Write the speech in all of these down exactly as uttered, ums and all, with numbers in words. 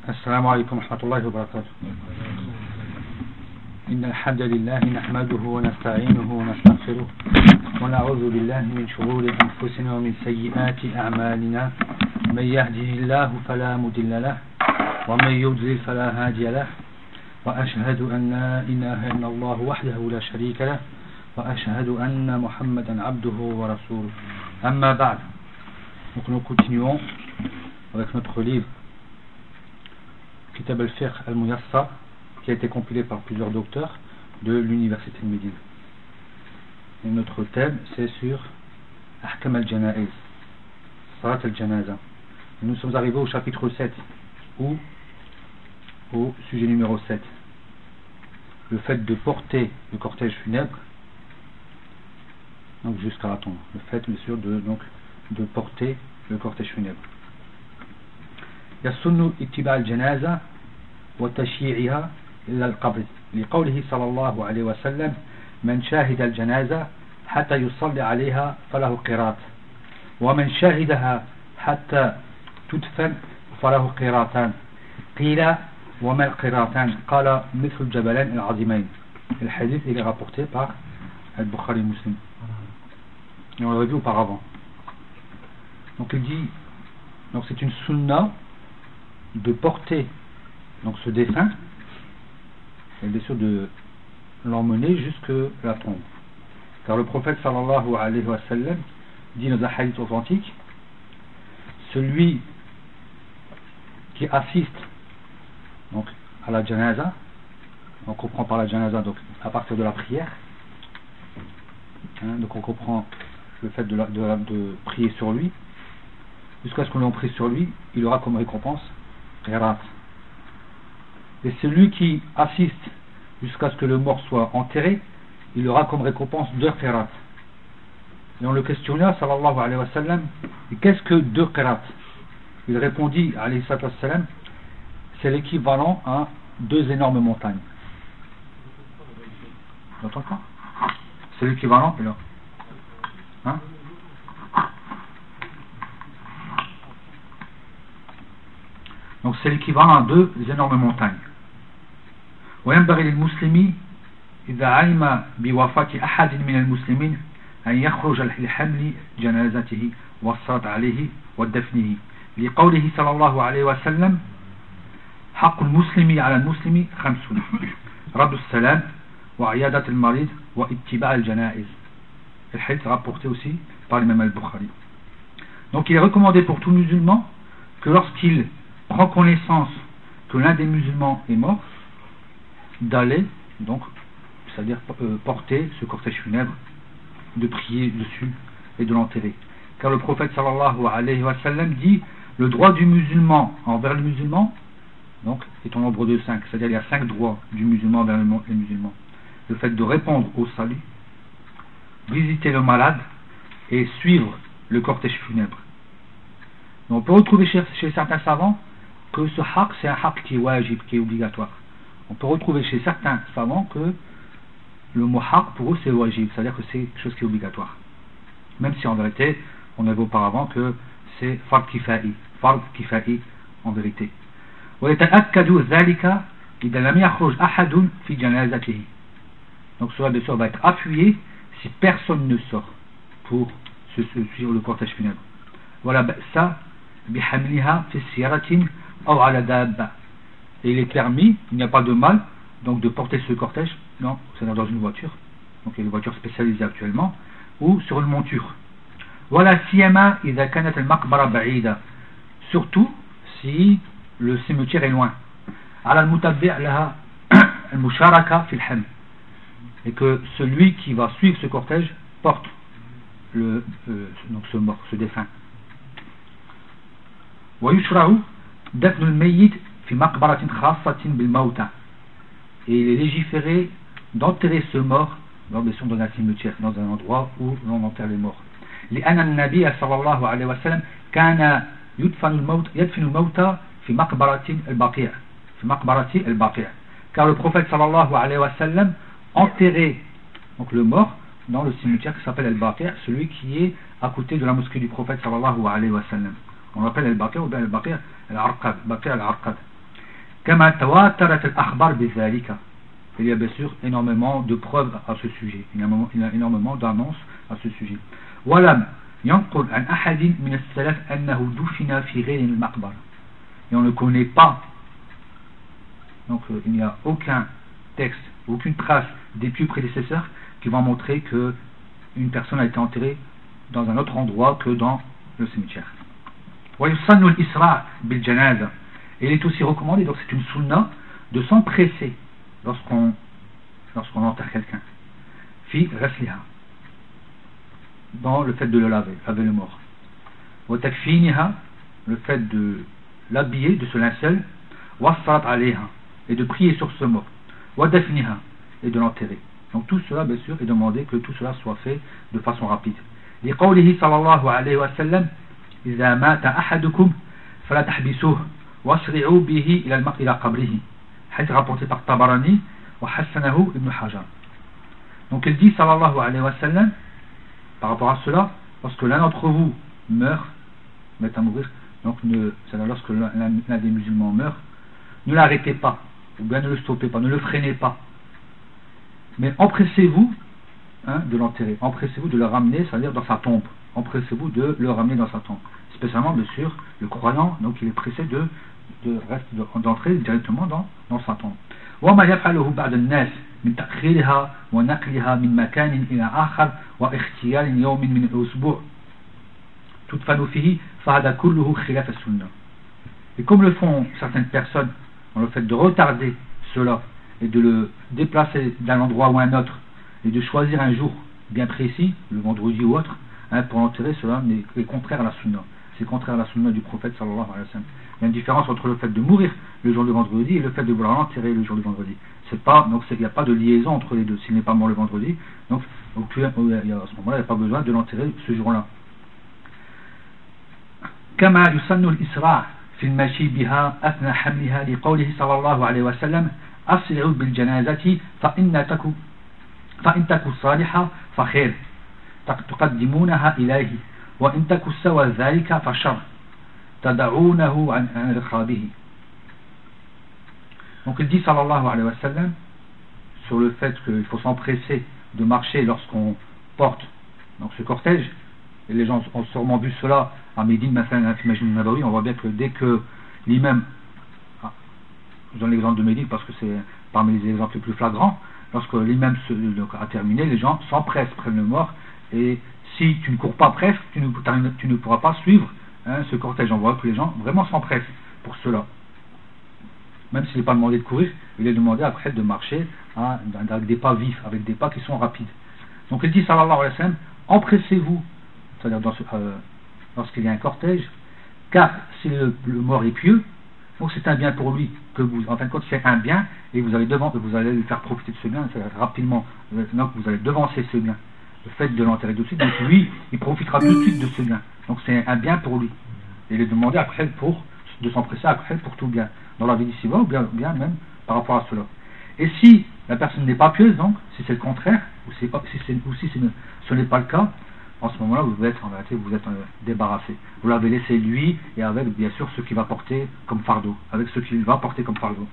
السلام عليكم ورحمة الله وبركاته. إن الحمد لله نحمده ونستعينه ونستغفره ونعوذ بالله من شرور أنفسنا ومن سيئات أعمالنا. من يهده الله فلا مضل له ومن يضلل فلا هادي له وأشهد أن لا إله إلا الله وحده لا شريك له وأشهد أن محمدا عبده ورسوله. أما بعد. Donc nous continuons avec notre livre Kitab al-Fiqh al-Muyassar, qui a été compilé par plusieurs docteurs de l'université de Médine. Et notre thème c'est sur Ahkam al-Janaiz, Salat al-Janaza. Nous sommes arrivés au chapitre sept, ou au sujet numéro sept, le fait de porter le cortège funèbre, donc jusqu'à la tombe, le fait bien sûr de, donc, de porter le cortège funèbre. يسن اتباع الجنازة وتشييعها إلى القبر لقوله صلى الله عليه وسلم من شاهد الجنازة حتى يصلي عليها فله قيراط ومن شاهدها حتى تدفن فله قيراطان قيل وما القيراطان قال مثل الجبلين العظيمين. Le hadith il est rapporté par Al-Bukhari Muslim et on l'avait vu auparavant. Donc il dit, donc c'est une sunna de porter donc ce défunt et bien sûr de l'emmener jusque la tombe, car le prophète sallallahu alayhi wa sallam dit dans un hadith authentique, celui qui assiste donc à la janaza, on comprend par la janaza donc à partir de la prière, hein, donc on comprend le fait de, la, de, la, de prier sur lui jusqu'à ce qu'on l'en prie sur lui, il aura comme récompense qirat. Et celui qui assiste jusqu'à ce que le mort soit enterré, il aura comme récompense deux qirat. Et on le questionna sallallahu alayhi wa sallam, qu'est-ce que deux qirat? Il répondit alayhi wa sallam, c'est l'équivalent à deux énormes montagnes. Vous entendez ça? C'est l'équivalent là. Hein? Donc c'est l'équivalent à deux énormes montagnes. وينبغي للمسلم إذا علم بوفاة أحد من المسلمين أن يخرج لحمل جنازته والصلاة عليه ودفنه لقوله صلى الله عليه وسلم حق المسلم على المسلم خمسون رد السلام وعيادة المريض واتباع الجنائز. Le hadith rapporté aussi par l'imam al-Bukhari. Donc il est recommandé pour tout musulman que lorsqu'il prend connaissance que l'un des musulmans est mort, d'aller donc, c'est-à-dire euh, porter ce cortège funèbre, de prier dessus et de l'enterrer. Car le prophète sallallahu alayhi wa sallam dit, le droit du musulman envers le musulman donc est au nombre de cinq, c'est-à-dire il y a cinq droits du musulman envers les musulmans. Le fait de répondre au salut, visiter le malade et suivre le cortège funèbre. Donc, on peut retrouver chez, chez certains savants que ce haq c'est un haq qui est wajib, qui est obligatoire. On peut retrouver chez certains savants que le mot haq pour eux c'est wajib, c'est-à-dire que c'est quelque chose qui est obligatoire, même si en vérité on avait auparavant que c'est fard kifa'i, fard kifa'i en vérité. Donc cela bien sûr va être appuyé si personne ne sort pour se suivre le cortège funèbre. Voilà ça bihamliha fi siratin aw ala dabba. Et il est permis, il n'y a pas de mal donc de porter ce cortège, non, c'est dans une voiture, donc il y a des voitures spécialisées actuellement, ou sur une monture. Voilà siyama idha kanat al-maqbara ba'ida, surtout si le cimetière est loin. Ala al-mutabbi' laha al-musharaka fi al-ham, et que celui qui va suivre ce cortège porte le euh, donc ce mort, ce défunt. ويشرع دفن الميت في مقبرة خاصة بالموتى, et il est légiféré d'enterrer ce mort dans, dans un cimetière, dans un endroit où l'on enterre les morts. لأن النبي صلى الله عليه وسلم كان يدفن الموت يدفن الموتى في مقبرة البقيع في مقبرة البقيع, car le prophète sallallahu alayhi wa sallam enterrait donc le mort dans le cimetière qui s'appelle al-Baqi', celui qui est à côté de la mosquée du prophète sallallahu alayhi wa sallam. On l'appelle al-Baqi' ou bien al-Baqi' al-Arqad, Baqi' al-Arqad. كما تواترت الأخبار بذلك. Il y a bien sûr énormément de preuves à ce sujet, il y a énormément, il y a énormément d'annonces à ce sujet. ولم ينقل عن أحد من السلف أنه دفن في غير المقبرة. Et on ne connaît pas, donc euh, il n'y a aucun texte, aucune trace des pieux prédécesseurs qui vont montrer que une personne a été enterrée dans un autre endroit que dans le cimetière. ويسن الإسراع بالجنازة. Et il est aussi recommandé, donc c'est une sunna, de s'empresser lorsqu'on lorsqu'on enterre quelqu'un. Fi ghasliha, dans le fait de le laver, laver le mort. Wa takfiniha, le fait de l'habiller de ce linceul. Wa salat alayha, et de prier sur ce mort. Wa dafniha, et de l'enterrer. Donc tout cela, bien sûr, est demandé que tout cela soit fait de façon rapide. Li qawlihi sallallahu alayhi wa sallam: إذا مات أحدكم فلا تحبسوه واسرعوا به إلى الماء إلى قبره. حيث rapporté par Tabarani wa hasanahu ibn Hajar. Donc il dit sallallahu alayhi wa sallam par rapport à cela, lorsque l'un d'entre vous meurt, met à mourir, donc ne, c'est-à-dire lorsque l'un, l'un des musulmans meurt, ne l'arrêtez pas, ou bien ne le stoppez pas, ne le freinez pas, mais empressez-vous hein, de l'enterrer, empressez-vous de le ramener, c'est-à-dire dans sa tombe, empressez-vous de le ramener dans sa tombe, spécialement bien sûr le croyant, donc il est pressé de, de, de d'entrer directement dans, dans sa tombe. وما يفعله بعض الناس من تأخيرها ونقلها من مكان إلى آخر واختيار يوم من الأسبوع تدفن فيه فهذا كله خلاف السنة. Et comme le font certaines personnes dans le fait de retarder cela et de le déplacer d'un endroit ou un autre et de choisir un jour bien précis, le vendredi ou autre, hein, pour l'enterrer, cela est contraire à la sunna. C'est contraire à la sunna du prophète sallallahu alayhi wa sallam. Il y a une différence entre le fait de mourir le jour du vendredi et le fait de vouloir l'enterrer le jour du vendredi. C'est pas, donc il n'y a pas de liaison entre les deux. S'il n'est pas mort le vendredi, donc au, il y a, à ce moment-là, il n'y a pas besoin de l'enterrer ce jour-là. كما يسن الإسراع في المشي بها أثناء حملها لقوله صلى الله عليه وسلم: أسرعوا بالجنازة فإن تكو فإن تكو صالحة فخير تقدمونها إليه وإن تكو سوى ذلك فشر تدعونه عن رقابه. Donc il dit sallallahu alayhi wa sallam sur le fait qu'il faut s'empresser de marcher lorsqu'on porte donc ce cortège, et les gens ont sûrement vu cela à Médine, maintenant on voit bien que dès que l'imam, ah, je donne l'exemple de Médine parce que c'est parmi les exemples les plus flagrants, lorsque l'imam a terminé, les gens s'empressent, prennent le mort, et si tu ne cours pas presque, tu ne, tu ne pourras pas suivre hein, ce cortège. On voit que les gens vraiment s'empressent pour cela. Même s'il n'est pas demandé de courir, il est demandé après de marcher à, avec des pas vifs, avec des pas qui sont rapides. Donc il dit sallallahu alayhi wa sallam: empressez-vous, c'est-à-dire dans ce, euh, lorsqu'il y a un cortège, car si le, le mort est pieux, donc c'est un bien pour lui, que vous, en fin de compte c'est un bien, et vous allez devant, vous allez lui faire profiter de ce bien, c'est-à-dire rapidement, donc vous allez devancer ce bien. Le fait de l'enterrer tout de suite, donc lui, il profitera tout de suite de ce bien. Donc c'est un bien pour lui. Et il est demandé après pour, de s'empresser après pour tout bien, dans la vie d'ici-bas, ou bien, bien même par rapport à cela. Et si la personne n'est pas pieuse, donc, si c'est le contraire, ou, c'est pas, si, c'est, ou si c'est, ce n'est pas le cas, en ce moment-là, vous êtes en réalité, vous êtes euh, débarrassé. Vous l'avez laissé lui, et avec bien sûr ce qu'il va porter comme fardeau, avec ce qu'il va porter comme fardeau.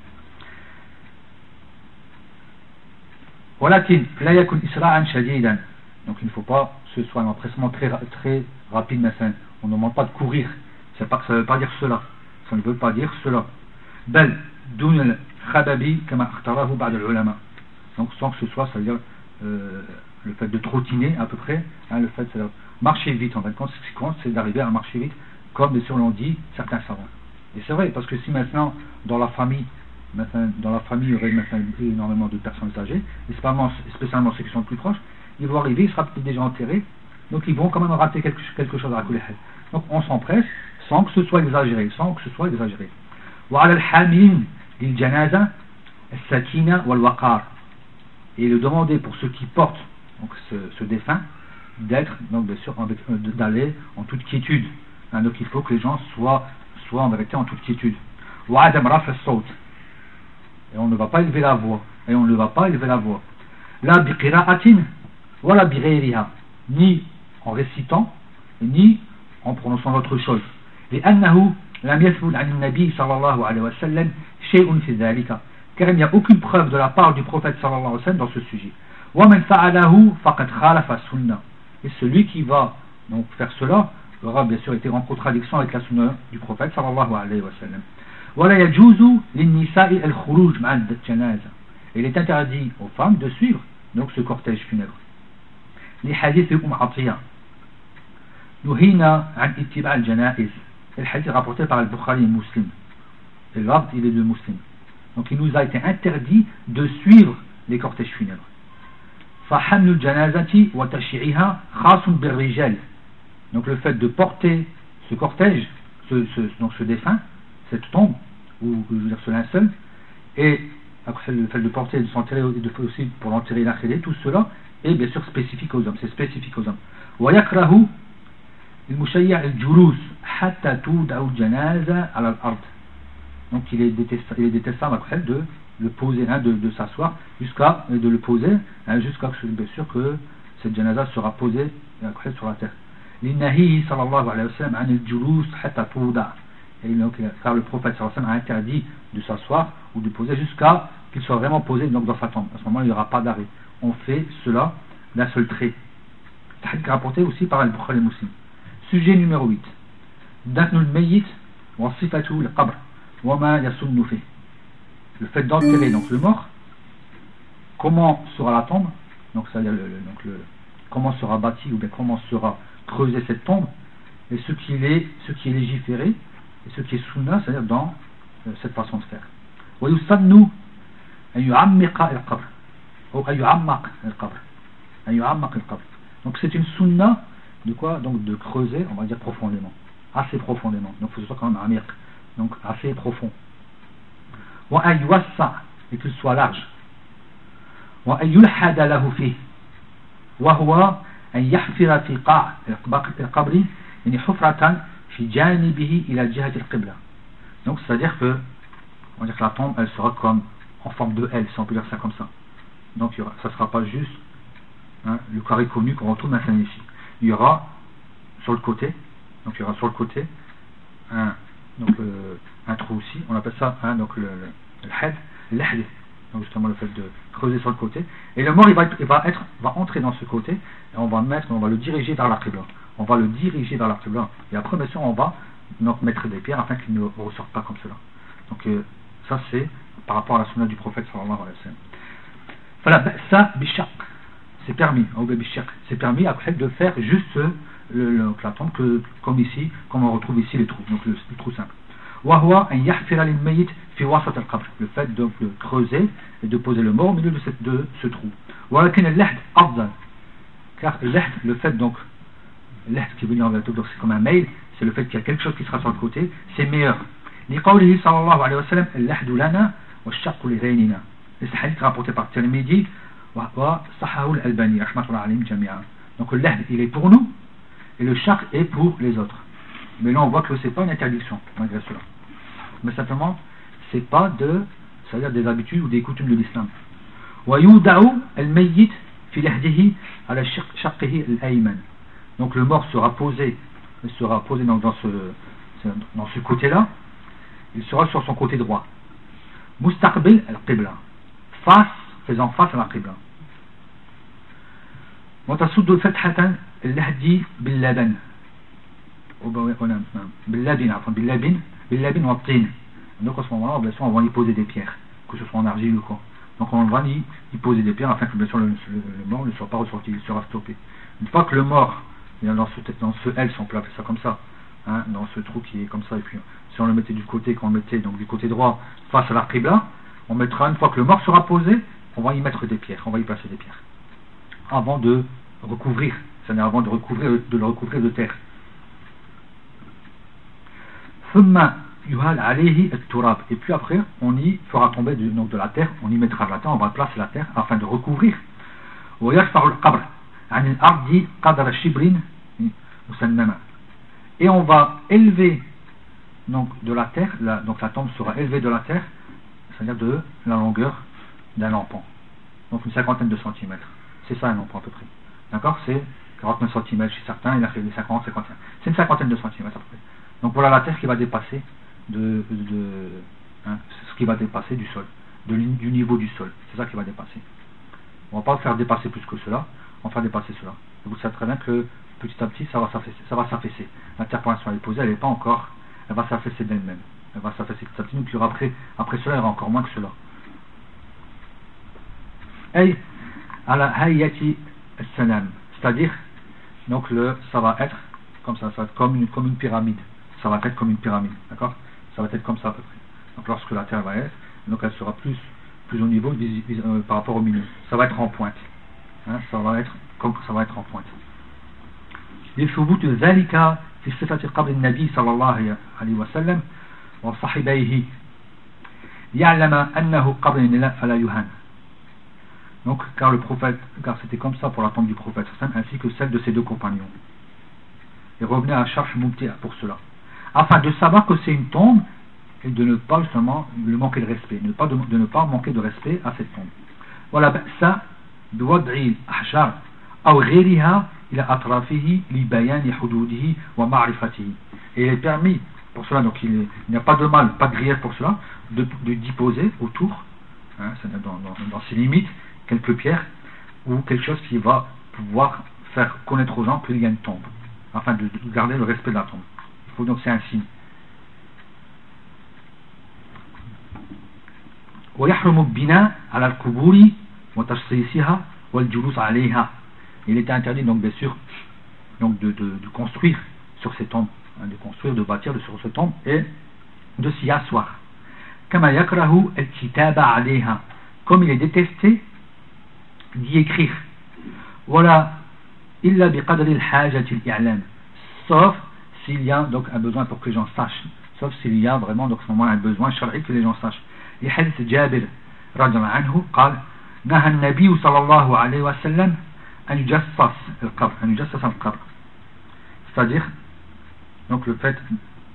ولكن لا يكن إسراعا شديدا. Donc il ne faut pas que ce soit un empressement très, très rapide, mais on ne demande pas de courir. C'est pas, ça ne veut pas dire cela. Ça ne veut pas dire cela. بل دون الخبب كما اختاره بعض العلماء. Donc sans que ce soit, ça veut dire euh, le fait de trottiner à peu près, hein, le fait de marcher vite. En fait, ce qui compte, c'est d'arriver à marcher vite, comme bien sûr l'ont dit certains savants. Et c'est vrai, parce que si maintenant dans la famille, maintenant, dans la famille il y aurait maintenant énormément de personnes âgées, et spécialement, spécialement ceux qui sont plus proches, ils vont arriver, il sera peut-être déjà enterré, donc ils vont quand même rater quelque, quelque chose à la Kulihel. Donc on s'empresse sans que ce soit exagéré, sans que ce soit exagéré. وعلى الحاملين للجنازة السكينة والوقار. Et le demander pour ceux qui portent donc ce, ce défunt d'être donc bien sûr avec, d'aller en toute quiétude. Hein, donc il faut que les gens soient soient en vérité en toute quiétude. وعدم رفع الصوت. Et on ne va pas élever la voix. Et on ne va pas élever la voix. لا بقراءة ولا بغيرها. Ni en récitant ni en prononçant autre chose. لأنه لم يثبت عن النبي صلى الله عليه وسلم شيء في ذلك, car il n'y a aucune preuve de la part du prophète sallallahu alayhi wa sallam dans ce sujet. ومن فعله فقد خالف السنة, et celui qui va donc faire cela aura bien sûr été en contradiction avec la sunna du prophète sallallahu alayhi wa sallam. ولا يجوز للنساء الخروج مع الجنازة, il est interdit aux femmes de suivre donc ce cortège funèbre. لحديث أم عطية نهينا عن اتباع الجنائز, le hadith rapporté par Al-Bukhari et Muslim, et l'ordre il est de Muslim, donc il nous a été interdit de suivre les cortèges funèbres. فحمل الجنازة وتشييعها خاص بالرجال, donc le fait de porter ce cortège, ce, ce, donc ce défunt, cette tombe, ou je veux dire ce linceul, et après le fait de porter et de s'enterrer, et de faire aussi pour l'enterrer l'akhiré, tout cela est bien sûr spécifique aux hommes, c'est spécifique aux hommes. ويكره المشيع الجلوس حتى توضع الجنازة على الأرض, donc il est détestable, il est détestable après de le poser, hein, de, de s'asseoir jusqu'à de le poser, hein, jusqu'à bien sûr que cette janaza sera posée après sur la terre. لنهيه صلى الله عليه وسلم عن الجلوس حتى توضع, et donc car le prophète sallallahu alayhi wa sallam a interdit de s'asseoir ou de poser jusqu'à qu'il soit vraiment posé donc dans sa tombe. À ce moment il n'y aura pas d'arrêt, on fait cela d'un seul trait. C'est rapporté aussi par Al-Bukhari et Muslim. Sujet numéro huit, دفن الميت وصفته القبر وما يسن فيه, le fait d'enterrer donc le mort, comment sera la tombe, donc c'est-à-dire le, le, donc le, comment sera bâti ou bien comment sera creusée cette tombe, et ce qui est, ce qui est légiféré et ce qui est sunna, c'est-à-dire dans euh, cette façon de faire. ويسن أن يعمق القبر أو أن يعمق القبر أن يعمق القبر, donc c'est une sunna de quoi, donc de creuser, on va dire profondément, assez profondément, donc il faut que ce soit quand même amir, donc assez profond. وأن يوسع, et qu'il soit large. وأن يلحد له فيه, وهو أن يحفر في قاع القبر يعني حفرة في جانبه إلى جهة القبلة, donc c'est à dire que on va dire que la tombe elle sera comme en forme de L, si on peut dire ça comme ça, donc il y aura, ça ne sera pas juste hein, le carré connu qu'on retrouve maintenant ici, il y aura sur le côté, donc il y aura sur le côté un, donc, euh, un trou aussi, on appelle ça hein, donc le, le, le had, l'ahd, donc justement le fait de creuser sur le côté, et le mort il va, il va, être, va entrer dans ce côté, et on va mettre, on va le diriger vers la qibla, on va le diriger vers la qibla, et après bien sûr on va donc mettre des pierres afin qu'il ne ressorte pas comme cela. Donc euh, ça c'est par rapport à la sunna du prophète sallallahu alayhi wa sallam. Fala ba'sa bishaq, c'est permis, c'est permis après de faire juste le, le, la tombe que, comme ici, comme on retrouve ici les trous, donc le, le trou simple. وهو أن يحفر للميت في وسط القبر, le fait de le creuser et de poser le mort au milieu de, cette, de ce trou. ولكن اللحد أفضل, car اللحد, le fait donc, اللحد qui veut dire en vérité c'est comme un mail, c'est le fait qu'il y a quelque chose qui sera sur le côté, c'est meilleur. لقوله صلى الله عليه وسلم اللحد لنا والشق لغيرنا, et ce hadith rapporté par Tirmidhi وصححه الألباني رحمة الله عليهم جميعا. Donc le lahd il est pour nous et le shaq est pour les autres. Mais là on voit que c'est pas une interdiction malgré cela, mais simplement c'est pas de, c'est-à-dire des habitudes ou des coutumes de l'islam. ويودع الميت في لحده على شقه الأيمن, donc le mort sera posé, il sera posé dans, dans ce dans ce côté-là, il sera sur son côté droit. مستقبل القبلة, face, faisant face à la qibla. وتصد فتحة اللحد باللبن باللبن عفوا باللبن باللبن والطين, donc à ce moment-là bien sûr on va y poser des pierres, que ce soit en argile ou quoi, donc on va y, y poser des pierres afin que bien sûr le, le, le mort ne soit pas ressorti, il sera stoppé. Une fois que le mort dans ce, dans ce L, si on peut appeler ça comme ça, hein, dans ce trou qui est comme ça, et puis si on le mettait du côté, qu'on le mettait donc du côté droit face à la qibla, on mettra, une fois que le mort sera posé, on va y mettre des pierres, on va y placer des pierres avant de recouvrir, c'est-à-dire avant de recouvrir, de le recouvrir de terre. Et puis après on y fera tomber du, donc de la terre, on y mettra de la terre, on va placer la terre afin de recouvrir. Et on va élever donc de la terre, la, donc la tombe sera élevée de la terre, c'est-à-dire de la longueur d'un lampon, donc une cinquantaine de centimètres, c'est ça un lampon à peu près, d'accord, c'est quarante-neuf centimètres chez certains, il a fait des cinquante, cinquante et un, c'est une cinquantaine de centimètres à peu près. Donc voilà la terre qui va dépasser de, de, de hein, ce qui va dépasser du sol, de, du niveau du sol. C'est ça qui va dépasser. On ne va pas faire dépasser plus que cela, on va faire dépasser cela. Et vous savez très bien que petit à petit, ça va s'affaisser. Ça va s'affaisser. La terre pour l'instant elle est posée, elle n'est pas encore, elle va s'affaisser d'elle-même. Elle va s'affaisser petit à petit, donc il y aura après, après cela, il y aura encore moins que cela. Ay, ala hayyati as-salam. C'est-à-dire, donc le, ça va être comme ça, ça va être comme une, comme une pyramide. Ça va être comme une pyramide, d'accord? Ça va être comme ça à peu près. Donc lorsque la terre va être, donc elle sera plus, plus au niveau euh, par rapport au milieu. Ça va être en pointe. Hein, ça va être comme ça va être en pointe. لثبوت ذلك في صفة قبر النبي صلى الله عليه وسلم وصحبيه ليعلم أنه قبر فلا يهان. Donc car le prophète, car c'était comme ça pour la tombe du prophète ainsi que celle de ses deux compagnons. Et revenez à Sharh Mumti' pour cela, afin de savoir que c'est une tombe et de ne pas justement le manquer de respect, ne pas de, de ne pas manquer de respect à cette tombe. Voilà, ça بوضع الأحجار أو غيرها إلى أطرافه لبيان حدوده ومعرفته. Et il est permis pour cela, donc il n'y a pas de mal, pas de grief pour cela, de, de d'y poser autour, hein, dans, dans, dans ses limites, quelques pierres ou quelque chose qui va pouvoir faire connaître aux gens qu'il y a une tombe, afin de, de garder le respect de la tombe. Il faut donc c'est un signe. ويحرم البناء على القبور وتشصيصها والجلوس عليها. Il était interdit donc bien sûr donc de, de, de construire sur ces tombes, hein, de construire, de bâtir sur ces tombes et de s'y asseoir. كما يكره الكتابة عليها, comme il est détesté d'y écrire. Voilà إلا بقدر الحاجة الإعلام, sauf s'il y a donc un besoin pour que les gens sachent, sauf s'il y a vraiment donc à ce moment un besoin شرعي que les gens sachent. لحديث جابر رضي الله عنه قال نهى النبي صلى الله عليه وسلم أن يجسس القبر أن يجسس القبر, c'est-à-dire donc le fait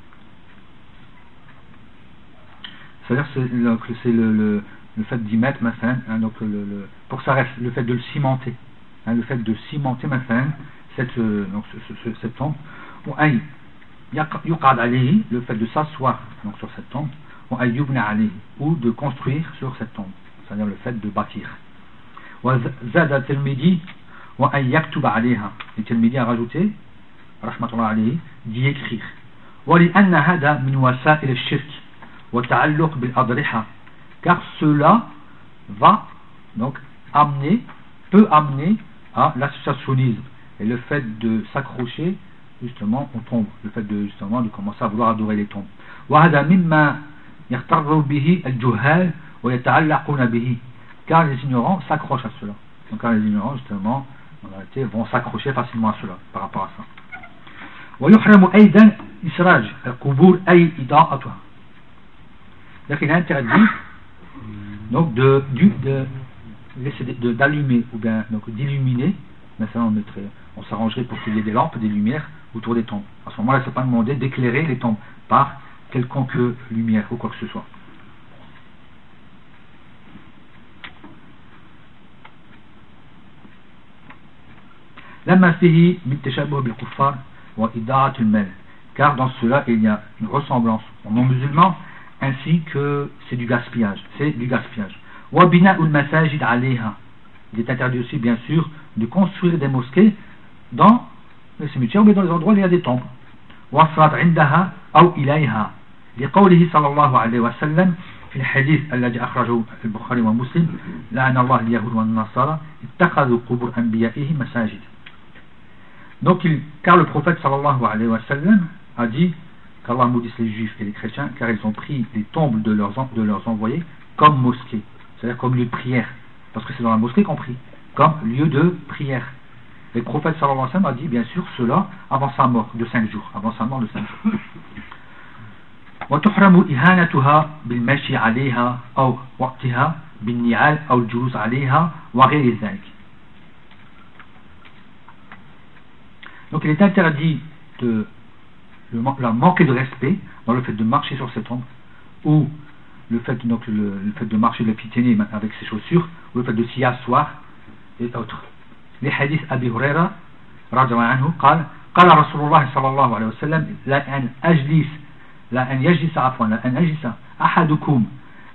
c'est-à-dire c'est le, c'est le, le, le fait d'y mettre مثلا, hein, donc le, le, pour que ça reste, le fait de le cimenter, hein, le fait de cimenter مثلا, cette, donc, ce, ce, cette tombe, ou أي يقعد عليه, le fait de s'asseoir donc sur cette tombe, ou أي يبنى عليه, ou de construire sur cette tombe, c'est-à-dire le fait de bâtir. وزاد الترمذي وأن يكتب عليها, le Tirmidhi a rajouté رحمة الله عليه d'y écrire. ولأن هذا من وسائل الشرك وتعلق بالأضرحة, car cela va donc amener, peut amener à l'associationnisme et le fait de s'accrocher justement aux tombes, le fait de justement de commencer à vouloir adorer les tombes. وهذا مما يغتر به الجهال ويتعلقون به, car les ignorants s'accrochent à cela. Donc car les ignorants justement en réalité vont s'accrocher facilement à cela par rapport à ça. ويحرم أيضا إسراج القبور أي إضاءتها. Donc il est interdit donc de, de, de laisser de, d'allumer ou bien donc d'illuminer, mais ça on mettrait, on s'arrangerait pour qu'il y ait des lampes, des lumières autour des tombes. À ce moment-là, c'est pas demandé d'éclairer les tombes par quelconque lumière ou quoi que ce soit. لما فيه من تشابه بالكفار وإضاعة المال, car dans cela il y a une ressemblance aux non-musulmans ainsi que c'est du gaspillage, c'est du gaspillage. وبناء المساجد عليها, il est interdit aussi bien sûr de construire des mosquées dans les cimetières ou dans les endroits où il y a des tombes. والصلاة عندها أو إليها, لقوله صلى الله عليه وسلم في الحديث الذي أخرجه البخاري ومسلم لعن الله اليهود والنصارى اتخذوا قبور أنبيائهم مساجد. Donc, il, car le prophète sallallahu alayhi wa sallam a dit qu'Allah maudisse les juifs et les chrétiens car ils ont pris les tombes de leurs, de leurs envoyés comme mosquée, c'est-à-dire comme lieu de prière, parce que c'est dans la mosquée qu'on prie, comme lieu de prière. Et le prophète sallallahu alayhi wa sallam a dit bien sûr cela avant sa mort de cinq jours, avant sa mort de cinq jours. وتحرم إهانتها بالمشي عليها أو وقتها بالنعال أو الجلوس عليها وغير ذلك. Donc il est interdit de le, la manquer de respect dans le fait de marcher sur cette tombe, ou le fait, donc, le, le fait de marcher de la piétiner avec ses chaussures, ou le fait de s'y asseoir et autres. Les hadiths Abi Huraira radhiyallahu anhu قال قال رسول الله صلى الله عليه وسلم لا أن أجلس لا أن يجلس عفوا لا أن يجلس أحدكم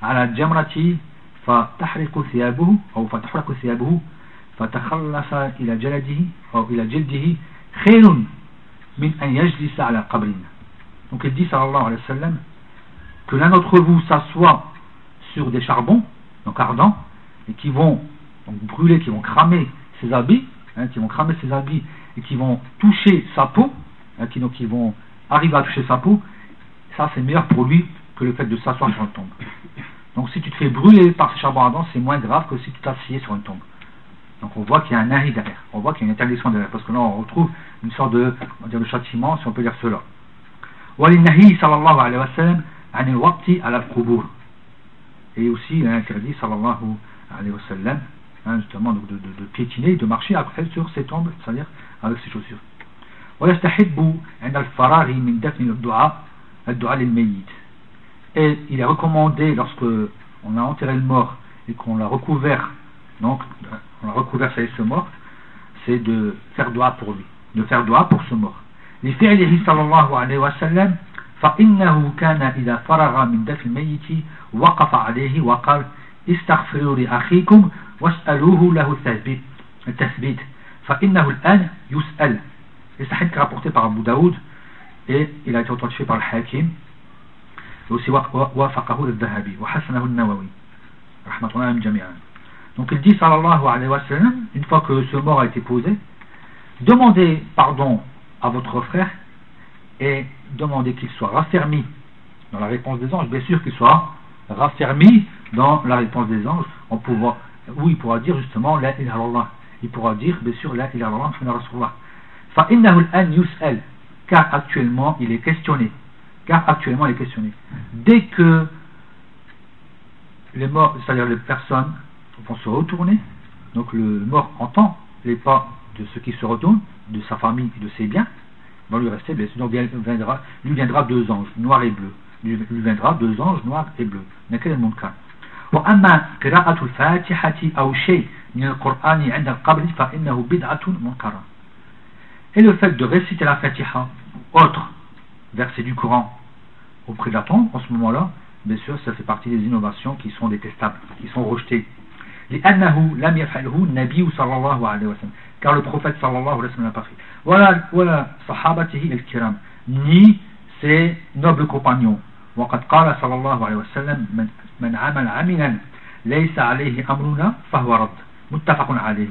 على الجمرة فتحرق ثيابه أو فتحرق ثيابه فتخلص إلى جلده أو إلى جلده خير من أن يجلس على قبر. Donc il dit sallallahu alayhi wa sallam que l'un d'entre vous s'assoit sur des charbons donc ardents et qui vont donc brûler, qui vont cramer ses habits, hein, qui vont cramer ses habits et qui vont toucher sa peau, hein, qui, donc, qui vont arriver à toucher sa peau, ça c'est meilleur pour lui que le fait de s'asseoir sur une tombe. Donc si tu te fais brûler par ces charbons ardents, c'est moins grave que si tu t'assieds sur une tombe. Donc on voit qu'il y a un nahi derrière, on voit qu'il y a une interdiction derrière, parce que là on retrouve une sorte de, on va dire, de châtiment, si on peut dire cela. وَلِلنَّهِي sallallahu alayhi wa sallam عن الوقت على القبور. Et aussi il a interdit sallallahu alayhi wa sallam, hein, justement donc, de, de, de piétiner, de marcher après sur ses tombes, c'est-à-dire avec ses chaussures. ويستحب عند الفراغ من دفن الدعاء الدعاء للميت. Et il est recommandé lorsque on a enterré le mort et qu'on l'a recouvert, donc on l'a recouvert sur ce mort, c'est de faire dua pour lui, de faire dua pour ce mort. لفعله صلى الله عليه وسلم فإنه كان إذا فرغ من دفن الميت وقف عليه وقال استغفروا لأخيكم واسألوه له التثبيت التثبيت فإنه الآن يسأل. Et ça est rapporté par Abu Daoud et il a été authentifié par le Hakim et aussi وافقه الذهبي وحسنه النووي رحمة الله عليهم جميعا. Donc il dit sallallahu alayhi wa sallam, une fois que ce mort a été posé, demandez pardon à votre frère et demandez qu'il soit raffermi dans la réponse des anges, bien sûr qu'il soit raffermi dans la réponse des anges, on pourra, où il pourra dire justement la ilaha illallah, il pourra dire bien sûr la ilaha illallah Muhammad Rasulullah. Fa innahu al-an yus'al, car actuellement il est questionné, car actuellement il est questionné. Dès que les morts, c'est-à-dire les personnes vont se retourner, donc le mort entend les pas de ceux qui se retournent, de sa famille et de ses biens, va lui rester, bien sûr, donc viendra, lui viendra deux anges, noirs et bleus, lui, lui viendra deux anges noirs et bleus. Quel est le monde cas? وأما قراءة الفاتحة أو شيء من القرآن عند القبر فإنه بدعة منكرة. Et le fait de réciter la Fatiha, autre verset du Coran auprès de la tombe, en ce moment-là, bien sûr, ça fait partie des innovations qui sont détestables, qui sont rejetées. لأنه لم يفعله النبي صلى الله عليه وسلم, car le prophète صلى الله عليه وسلم n'a pas fait. ولا ولا صحابته الكرام, ni ses nobles compagnons. وقد قال صلى الله عليه وسلم من من عمل عملا ليس عليه أمرنا فهو رد متفق عليه.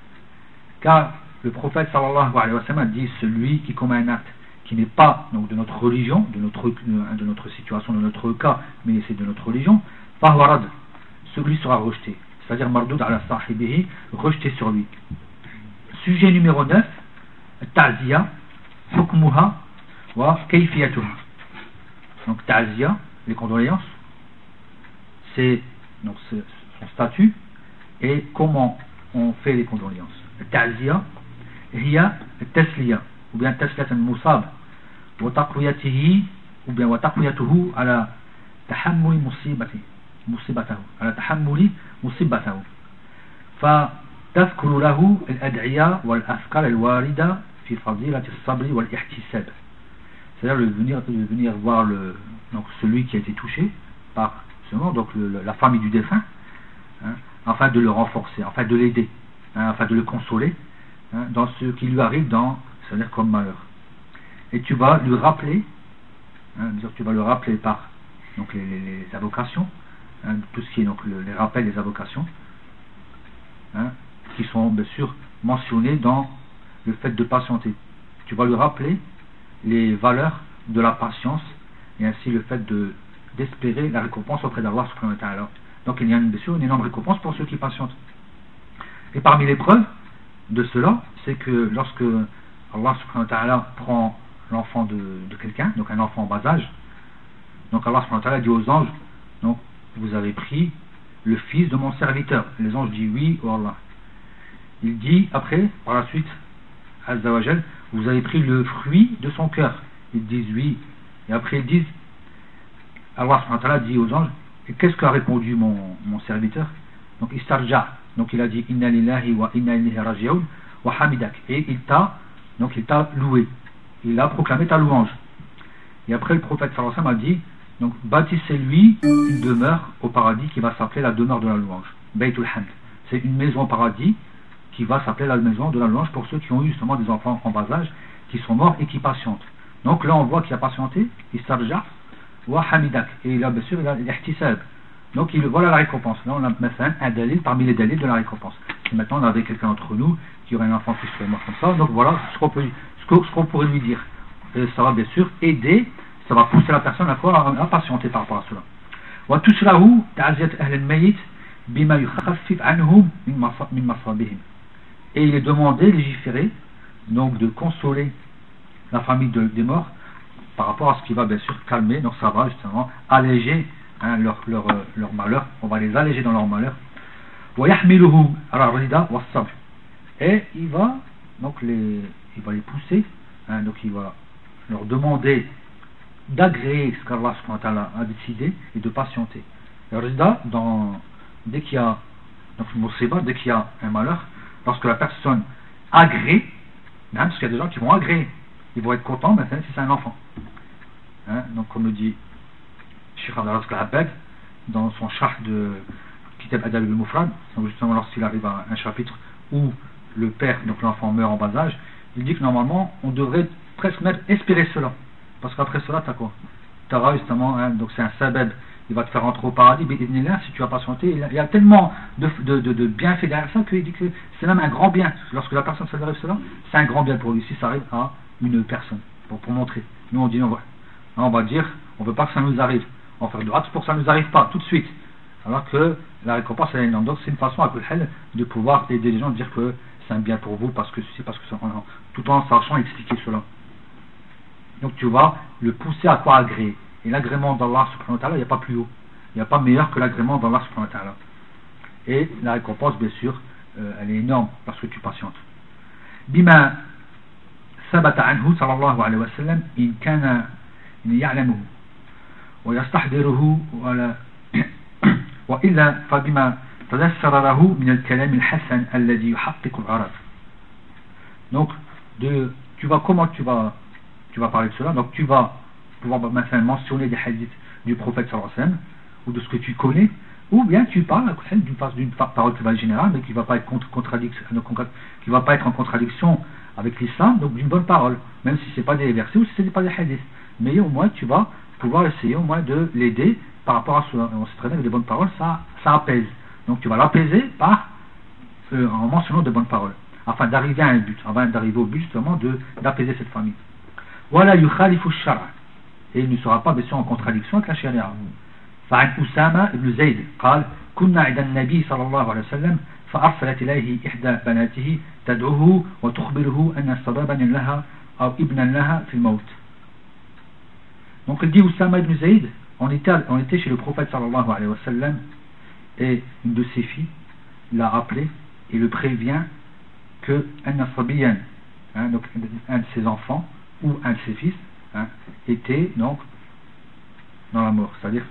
Car le prophète sallallahu alayhi wa sallam dit celui qui commet un acte qui n'est pas donc de notre religion, de notre, de notre situation, de notre cas, mais c'est de notre religion, فهو رد, celui sera rejeté, c'est-à-dire mardoud ala sahibihi, rejeté sur lui. Sujet numéro neuf, ta'ziya, hukmuha wa kayfiyatuha. Donc ta'ziya, les condoléances, c'est donc c'est son statut et comment on fait les condoléances. Ta'ziya hiya tasliya ou bien tasliyat al-musab wa taqwiyatihi ou bien wa taqwiyatuhu ala tahammuli musibati musibatahu ala tahammuli musibatahu fa tadhkuru lahu al-ad'iya wal afkar al-warida fi fadilat as-sabr wal ihtisab. C'est-à-dire de venir, de venir voir le, donc celui qui a été touché par ce mort, donc le, la famille du défunt, hein, afin de le renforcer, afin de l'aider, hein, afin de le consoler, hein, dans ce qui lui arrive, dans, c'est-à-dire comme malheur. Et tu vas lui rappeler, hein, tu vas le rappeler par donc les, les, les avocations, hein, tout ce qui est donc le, les rappels des avocations, hein, qui sont bien sûr mentionnés dans le fait de patienter. Tu vas lui rappeler les valeurs de la patience et ainsi le fait de d'espérer la récompense auprès d'Allah subhanahu wa ta'ala. Donc il y a une, bien sûr une énorme récompense pour ceux qui patientent. Et parmi les preuves de cela, c'est que lorsque Allah subhanahu wa ta'ala prend l'enfant de, de quelqu'un, donc un enfant en bas âge, donc Allah subhanahu wa ta'ala dit aux anges, donc vous avez pris le fils de mon serviteur. Et les anges disent oui, oh Allah. Il dit après, par la suite, Azza wa Jal, vous avez pris le fruit de son cœur. Ils disent oui. Et après ils disent, Allah subhanahu wa ta'ala dit aux anges, et qu'est-ce qu'a répondu mon, mon serviteur? Donc istarja, donc il a dit inna lillahi wa inna ilayhi raji'un wa hamidak, et il t'a donc il t'a loué, il a proclamé ta louange. Et après le prophète sallallahu alayhi wa sallam a dit Donc bâtissez-lui une demeure au paradis qui va s'appeler la demeure de la louange. Baytul Hamd. C'est une maison au paradis qui va s'appeler la maison de la louange pour ceux qui ont eu justement des enfants en bas âge, qui sont morts et qui patientent. Donc là on voit qu'il a patienté, il s'arja, wa hamidak, et il a bien sûr l'ihtisab. Donc il, voilà la récompense. Là on a maintenant un dalil parmi les dalils de la récompense. Et maintenant on avait quelqu'un d'entre nous qui aurait un enfant qui serait mort comme ça, donc voilà ce qu'on peut, ce qu'on, ce qu'on pourrait lui dire. Et ça va bien sûr aider, ça va pousser la personne à quoi, à patienter par rapport à cela. Wa tushrahu ta'ziyat ahl al-mayyit bima yukhaffif anhum min masabihim. Et il est demandé, légiféré, donc de consoler la famille de, des morts par rapport à ce qui va bien sûr calmer, donc ça va justement alléger hein, leur, leur, leur malheur, on va les alléger dans leur malheur. Et il va donc les, il va les pousser, hein, donc il va leur demander d'agréer ce qu'Allah subhanahu wa ta'ala a décidé et de patienter. Le résultat, dans, dès qu'il y a donc, dès qu'il y a un malheur, lorsque la personne agrée, hein, parce qu'il y a des gens qui vont agréer, ils vont être contents maintenant si c'est un enfant. Hein, donc comme le dit Cheikh Abdel Razak Al-Abbad dans son charh de Kitab Adab al-Mufrad, justement lorsqu'il arrive à un chapitre où le père, donc l'enfant meurt en bas âge, il dit que normalement on devrait presque même espérer cela, parce qu'après cela tu as quoi, tu auras justement, hein, donc c'est un sabab, il va te faire rentrer au paradis, mais si tu as patienté, il y a tellement de, de, de, de bienfaits derrière ça qu'il dit que c'est même un grand bien. Lorsque la personne s'arrive cela, c'est un grand bien pour lui si ça arrive à une personne, pour, pour montrer. Nous on dit, on va, on va dire, on veut pas que ça nous arrive, on va faire de hâte pour que ça nous arrive pas tout de suite, alors que la récompense est énorme. Donc c'est une façon à de pouvoir aider les gens, de dire que c'est un bien pour vous, parce que ceci, parce que ça, tout en sachant expliquer cela. Donc tu vas le pousser à quoi agréer. Et l'agrément d'Allah subhanahu wa ta'ala, il n'y a pas plus haut. Il n'y a pas meilleur que l'agrément d'Allah subhanahu wa ta'ala. Et la récompense, bien sûr, euh, elle est énorme lorsque tu patientes. Bima sabata anhu sallallahu alayhi wa sallam in kana ya'lamuhu wa yastahdiruhu wa illa fabima tadassara lahu min al-kalam al-hasan alladhi yuhaqqiqu al-arab. Donc de, tu vas comment tu vas tu vas parler de cela. Donc tu vas pouvoir maintenant mentionner des hadiths du prophète sallallahu alayhi wa sallam ou de ce que tu connais, ou bien tu parles d'une d'une parole qui va être générale mais qui va pas être contre contradiction, qui va pas être en contradiction avec l'islam, donc d'une bonne parole, même si c'est pas des versets ou si c'est pas des hadiths, mais au moins tu vas pouvoir essayer au moins de l'aider par rapport à cela. On sait très bien que des bonnes paroles ça, ça apaise, donc tu vas l'apaiser par euh, en mentionnant de bonnes paroles afin d'arriver à un but, afin d'arriver au but justement de d'apaiser cette famille. Wala yukhalifu ash-shar', et il ne sera pas bien sûr en contradiction avec la charia. فعن أسامة بن زيد قال كنا عند النبي صلى الله عليه وسلم فأرسلت إليه إحدى بناته تدعوه وتخبره أن سببا لها أو ابنا لها في الموت. Donc il dit Usama ibn Zayd, on était, on était chez le prophète sallallahu alayhi wa sallam et une de ses filles l'a appelé et le prévient que un sabiyan, hein, donc un de ses enfants ou un de ses fils hein, était donc dans la mort, c'est-à-dire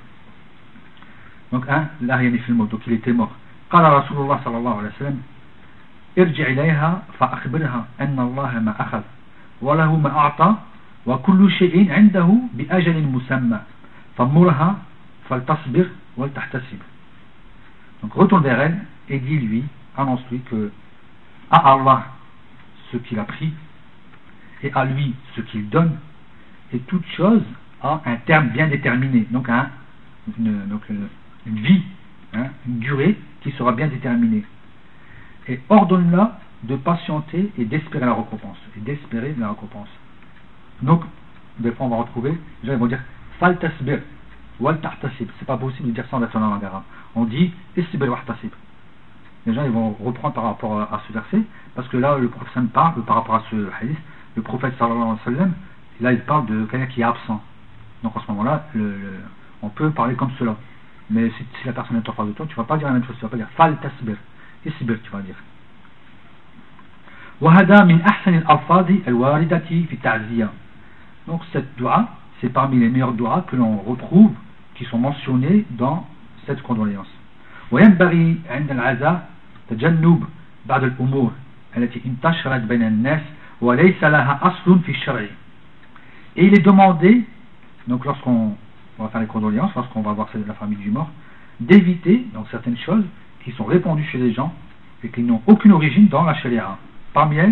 donc un là il est donc il était mort. قال رسول الله صلى الله عليه وسلم ارجع إليها فأخبرها أن الله ما أخذ وله ما أعطى وكل شيء عنده بأجل مسمى فمرها فلتصبر ولتحتسب. Donc retourne vers elle et dis-lui, annonce-lui que à Allah ce qu'il a pris et à lui ce qu'il donne, et toute chose a un terme bien déterminé, donc un une, donc une, une vie, hein, une durée qui sera bien déterminée, et ordonne-la de patienter et d'espérer la récompense et d'espérer la récompense. Donc des fois on va retrouver, les gens ils vont dire fal tasbir wal tahtasib, c'est pas possible de dire ça en version langue arabe, on dit isbir wa tahtasib. Les gens ils vont reprendre par rapport à, à ce verset, parce que là le prophète parle par rapport à ce hadith, le prophète sallallahu alayhi wa sallam, là il parle de quelqu'un qui est absent, donc en ce moment là le, le on peut parler comme cela, mais si, si la personne est en face de toi, tu ne vas pas dire la même chose, tu ne vas pas dire fal tasbir, isbir, tu vas dire. وهذا من أحسن الألفاظ الواردة في التعزية. Donc cette dua, c'est parmi les meilleurs duas que l'on retrouve, qui sont mentionnés dans cette condoléance. وينبغي عند العزاء تجنب بعض الأمور التي انتشرت بين الناس وليس لها أصل في الشرع. Et il est demandé, donc lorsqu'on on va faire les condoléances lorsqu'on va voir la famille du mort, d'éviter donc certaines choses qui sont répandues chez les gens et qui n'ont aucune origine dans la sharia. Parmi elles,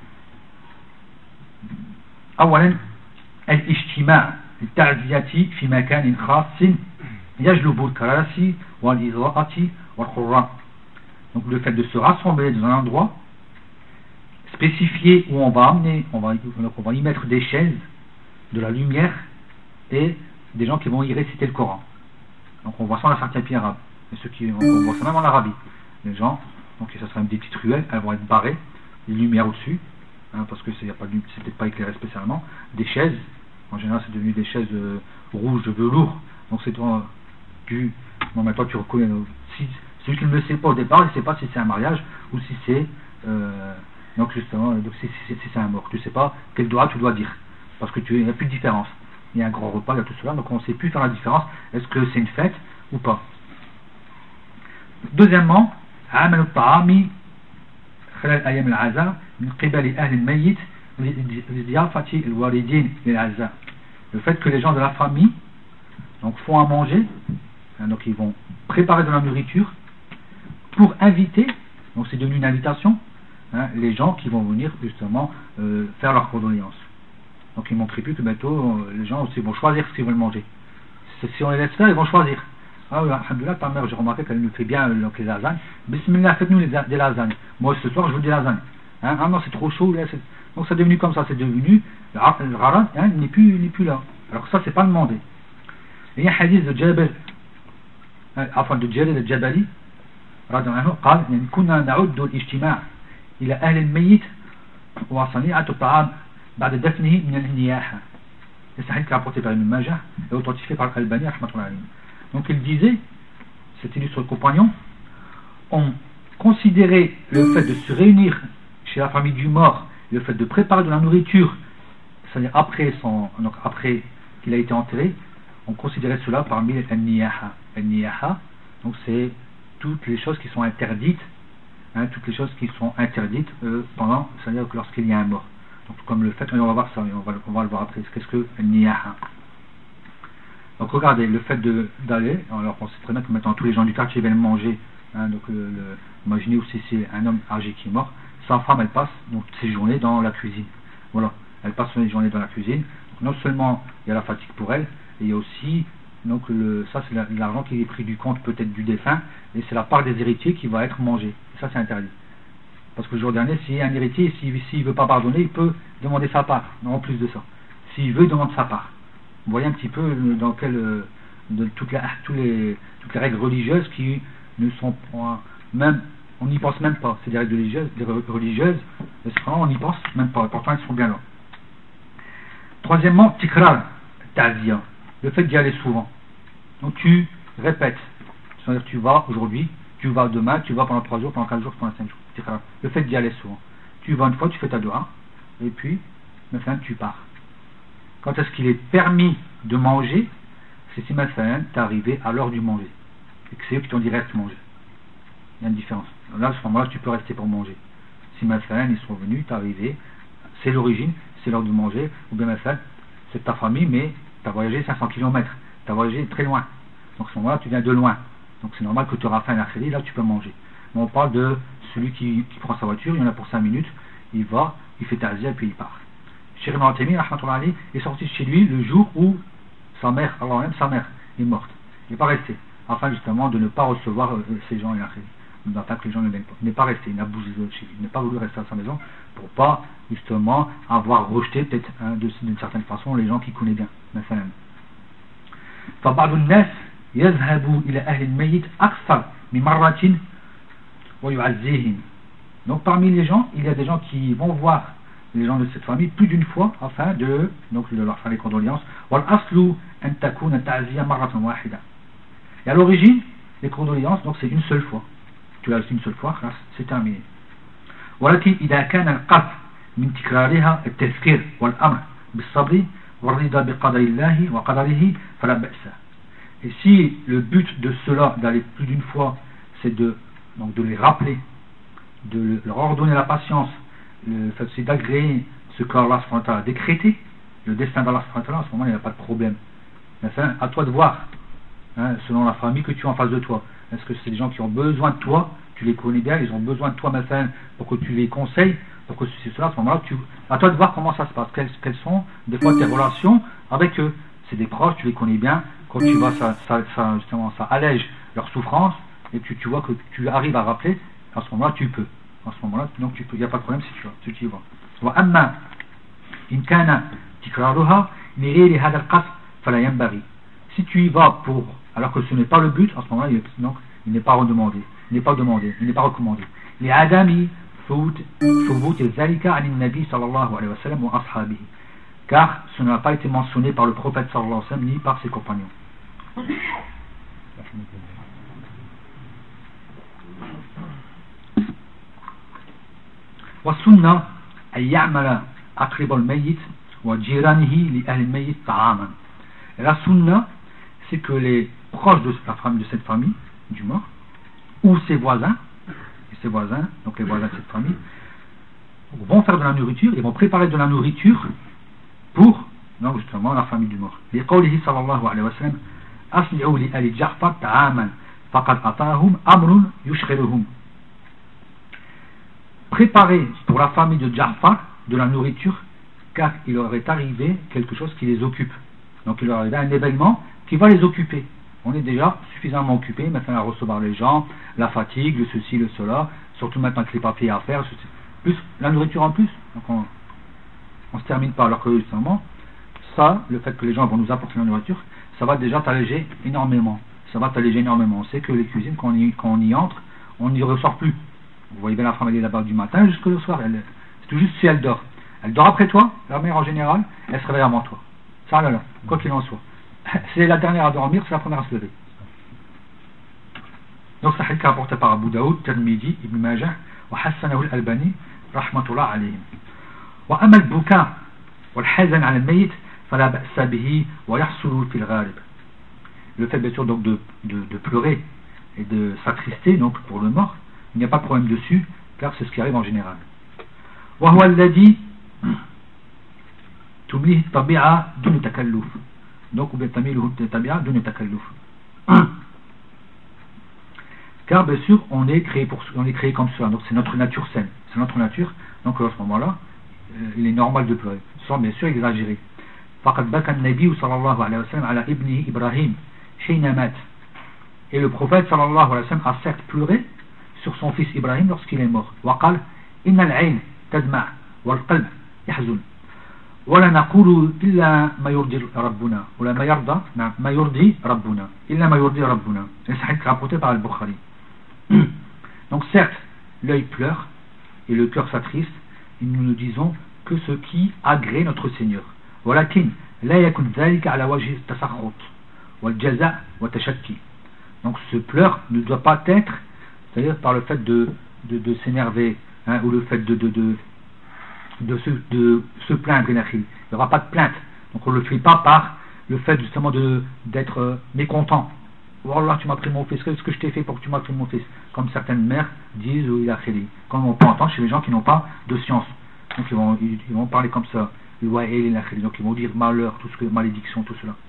أولا الاجتماع للتعزية في مكان خاص يجلب الكراسي والإضاءة والقراء. Donc le fait de se rassembler dans un endroit spécifié où on va amener, on va, donc on va y mettre des chaises, de la lumière et des gens qui vont y réciter le Coran. Donc on voit ça dans certains pays arabes. Et ceux qui, on voit ça même en Arabie. Les gens, donc ça sera des petites ruelles, elles vont être barrées, les lumières au-dessus, hein, parce que c'est peut-être pas éclairé spécialement, des chaises, en général c'est devenu des chaises euh, rouges de velours, donc c'est euh, du... Bon maintenant tu reconnais, euh, si, celui qui ne le sait pas au départ, il ne sait pas si c'est un mariage ou si c'est... Euh, donc justement, donc si, si, si c'est un mort, tu ne sais pas quel doigt tu dois dire, parce que tu, il n'y a plus de différence. Il y a un grand repas, il y a tout cela, donc on ne sait plus faire la différence, est-ce que c'est une fête ou pas. Deuxièmement, عمل الطعام خلال أيام العزاء من قبل أهل الميت لضيافة الواردين للعزاء. Le fait que les gens de la famille donc font à manger, hein, donc ils vont préparer de la nourriture pour inviter, donc c'est devenu une invitation, hein, les gens qui vont venir justement euh, faire leurs condoléances. Donc il ne manquerait plus que bientôt euh, les gens aussi vont choisir ce qu'ils veulent manger. Si on les laisse faire, ils vont choisir. Ah oui, alhamdoulilah, ta mère, j'ai remarqué qu'elle nous fait bien euh, donc les lasagnes. Bismillah, faites-nous des, des lasagnes. Moi ce soir je veux des lasagnes. Hein, ah non, c'est trop chaud. Là, donc c'est devenu comme ça, c'est devenu le rarad, hein, il n'est plus, il n'est plus là. Alors ça, c'est pas demandé. Il y a un hadith de Jabal, enfin de Jalil al-Jabali, رضي الله عنه قال يعني كنا نعد الاجتماع إلى أهل الميت وصنيعة الطعام بعد دفنه من النياحة. C'est un hadith qui est rapporté par Ibn Majah et authentifié par Al-Albani rahmatullahi alayhi. Donc il disait, cet illustre compagnon, on considérait le fait de se réunir chez la famille du mort, le fait de préparer de la nourriture, c'est-à-dire après, son, donc après qu'il a été enterré, on considérait cela parmi les niyaha. Les niyaha, donc c'est toutes les choses qui sont interdites, hein, toutes les choses qui sont interdites euh, pendant, c'est-à-dire que lorsqu'il y a un mort. Donc comme le fait, on va voir ça, on va, on va le voir après, qu'est-ce que le niyaha. Donc regardez, le fait de, d'aller, alors on sait très bien que maintenant tous les gens du quartier viennent manger, hein, donc le, le, imaginez aussi c'est un homme âgé qui est mort, sa femme elle passe donc ses journées dans la cuisine, voilà, elle passe ses journées dans la cuisine, donc non seulement il y a la fatigue pour elle, et il y a aussi, donc le, ça c'est la, l'argent qui est pris du compte peut-être du défunt, et c'est la part des héritiers qui va être mangée, et ça c'est interdit. Parce que le jour dernier, s'il y a un héritier, s'il ne veut pas pardonner, il peut demander sa part, non en plus de ça, s'il veut, il demande sa part. Vous voyez un petit peu dans quel, de toutes, les, tous les, toutes les règles religieuses qui ne sont pas, même, on n'y pense même pas, c'est des règles religieuses, des religieuses, on n'y pense même pas, pourtant elles sont bien là. Troisièmement, tikrar, ta'ziya, le fait d'y aller souvent. Donc tu répètes, c'est-à-dire tu vas aujourd'hui, tu vas demain, tu vas pendant trois jours, pendant quatre jours, pendant cinq jours, tikrar, le fait d'y aller souvent. Tu vas une fois, tu fais ta doua, et puis, maintenant tu pars. Quand est-ce qu'il est permis de manger? C'est si maintenant tu es arrivé à l'heure du manger et que c'est eux qui t'ont dit reste manger. Il y a une différence. Là, à ce moment-là, tu peux rester pour manger. Si maintenant ils sont venus, tu es arrivé, c'est l'origine, c'est l'heure de manger, ou bien maintenant c'est ta famille, mais tu as voyagé cinq cents kilomètres, tu as voyagé très loin. Donc à ce moment-là, tu viens de loin. Donc c'est normal que tu auras faim à l'après-midi, là tu peux manger. Mais on parle de celui qui, qui prend sa voiture, il y en a pour cinq minutes, il va, il fait ta'ziya et puis il part. Cheikh Ibn Uthaymin est sorti chez lui le jour où sa mère, alors même sa mère, est morte. Il n'est pas resté, afin justement de ne pas recevoir euh, ces gens, afin que les gens ne viennent pas. Il n'est pas resté, il n'a bougé chez lui, il n'a pas voulu rester à sa maison pour pas justement avoir rejeté peut-être hein, d'une certaine façon les gens qui connaissent bien. فبعض الناس يذهب إلى أهل الميت أكثر من مرة ويعزيهم. Donc parmi les gens, il y a des gens qui vont voir les gens de cette famille plus d'une fois afin de, donc, de leur faire les condoléances. Et à l'origine, les condoléances, donc c'est une seule fois. Tu l'as une seule fois, c'est terminé. ولكن إذا كان القصد من تكرارها التذكير والأمر بالصبر والرضا بقدر الله وقدره فلا بأس. Et si le but de cela d'aller plus d'une fois, c'est de, donc de les rappeler, de leur ordonner la patience, le fait c'est d'agréer ce qu'Allah a décrété, le destin d'Allah, à ce moment-là il n'y a pas de problème. Enfin, à toi de voir, hein, selon la famille que tu as en face de toi. Est-ce que c'est des gens qui ont besoin de toi, tu les connais bien, ils ont besoin de toi maintenant pour que tu les conseilles, pour que ceci, cela, à ce moment-là, tu, à toi de voir comment ça se passe, quelles, quelles sont des fois tes relations avec eux. C'est des proches, tu les connais bien, quand tu vas, ça, ça, ça, justement, ça allège leur souffrance, et tu, tu vois que tu arrives à rappeler, à ce moment-là, tu peux. À ce moment-là, donc tu peux, il n'y a pas de problème si tu vas, si tu y vas. وأما إن كان تكرارها لغير هذا القصد فلا ينبغي. Si tu y vas pour, alors que ce n'est pas le but, à ce moment-là, il, donc, il n'est pas redemandé, il n'est pas demandé, il n'est pas recommandé. لعدم ثبوت ذلك عن النبي صلى الله عليه وسلم وأصحابه. Car ce n'a pas été mentionné par le prophète sallallahu alayhi wa sallam ni par ses compagnons. والسنة أن يعمل أقرب الميت وجيرانه لأهل الميت طعاما. La sunna, c'est que les proches de la famille, de cette famille du mort, ou ses voisins, et ses voisins, donc les voisins de cette famille, vont faire de la nourriture, ils vont préparer de la nourriture pour, donc justement, la famille du mort. لقوله صلى الله عليه وسلم أصنعوا لآل جعفر طعاما فقد أطاهم أمر يشغلهم. Préparer pour la famille de Ja'far de la nourriture, car il leur est arrivé quelque chose qui les occupe. Donc il leur est arrivé un événement qui va les occuper. On est déjà suffisamment occupé maintenant à recevoir les gens, la fatigue, le ceci, le cela, surtout maintenant avec les papiers à faire, plus la nourriture en plus. Donc on ne se termine pas, alors que justement, ça, le fait que les gens vont nous apporter la nourriture, ça va déjà t'alléger énormément. Ça va t'alléger énormément. On sait que les cuisines, quand on y, quand on y entre, on n'y ressort plus. Vous voyez bien la femme, elle est là-bas du matin jusqu'au soir. Elle, c'est tout juste si elle dort. Elle dort après toi, la mère en général, elle se réveille avant toi. Ça là là, quoi qu'il en soit. C'est la dernière à dormir, c'est la première à se lever. Donc ça est rapporté par Abu Daoud, Tirmidhi, Ibn Majah, wa Hassanahu al-Albani, rahmatullah alayhim. Wa amma al-buka wal hazan ala al-mayyit fala ba'sa bihi wa yahsulu fil ghalib. Le fait bien sûr donc de, de, de pleurer et de s'attrister donc pour le mort, il n'y a pas de problème dessus, car c'est ce qui arrive en général. وهو الذي تمليه الطبيعة دون تكلف. Donc ou bien تميله الطبيعة دون تكلف. Car bien sûr on est créé pour, on est créé comme cela, donc c'est notre nature saine, c'est notre nature. Donc à ce moment-là, euh, il est normal de pleurer, sans bien sûr exagérer. فقد بكى النبي صلى الله عليه وسلم على ابنه إبراهيم حين مات. Et le prophète sallallahu alayhi wa sallam a certes pleuré sur son fils Ibrahim lorsqu'il est mort. وقال إن العين تدمع والقلب يحزن ولا نقول إلا ما يرضي ربنا ولا ما يرضى ما يرضي ربنا إلا ما يرضي ربنا. Et ça a été rapporté par Al-Bukhari. Donc certes, l'œil pleure et le cœur s'attriste, et nous ne disons que ce qui agrée notre Seigneur. ولكن لا يكن ذلك على وجه التسخط والجزاء والتشكي. Donc ce pleur ne doit pas être, c'est-à-dire par le fait de, de, de s'énerver, hein, ou le fait de, de, de, de, se, de se plaindre. Il n'y aura pas de plainte. Donc on ne le fait pas par le fait justement de, d'être euh, mécontent. Oh Allah, tu m'as pris mon fils, qu'est-ce que je t'ai fait pour que tu m'as pris mon fils? Comme certaines mères disent, ou il a créé. Comme on peut entendre chez les gens qui n'ont pas de science. Donc ils vont, ils, ils vont parler comme ça. Donc ils vont dire malheur, tout ce que, malédiction, tout cela.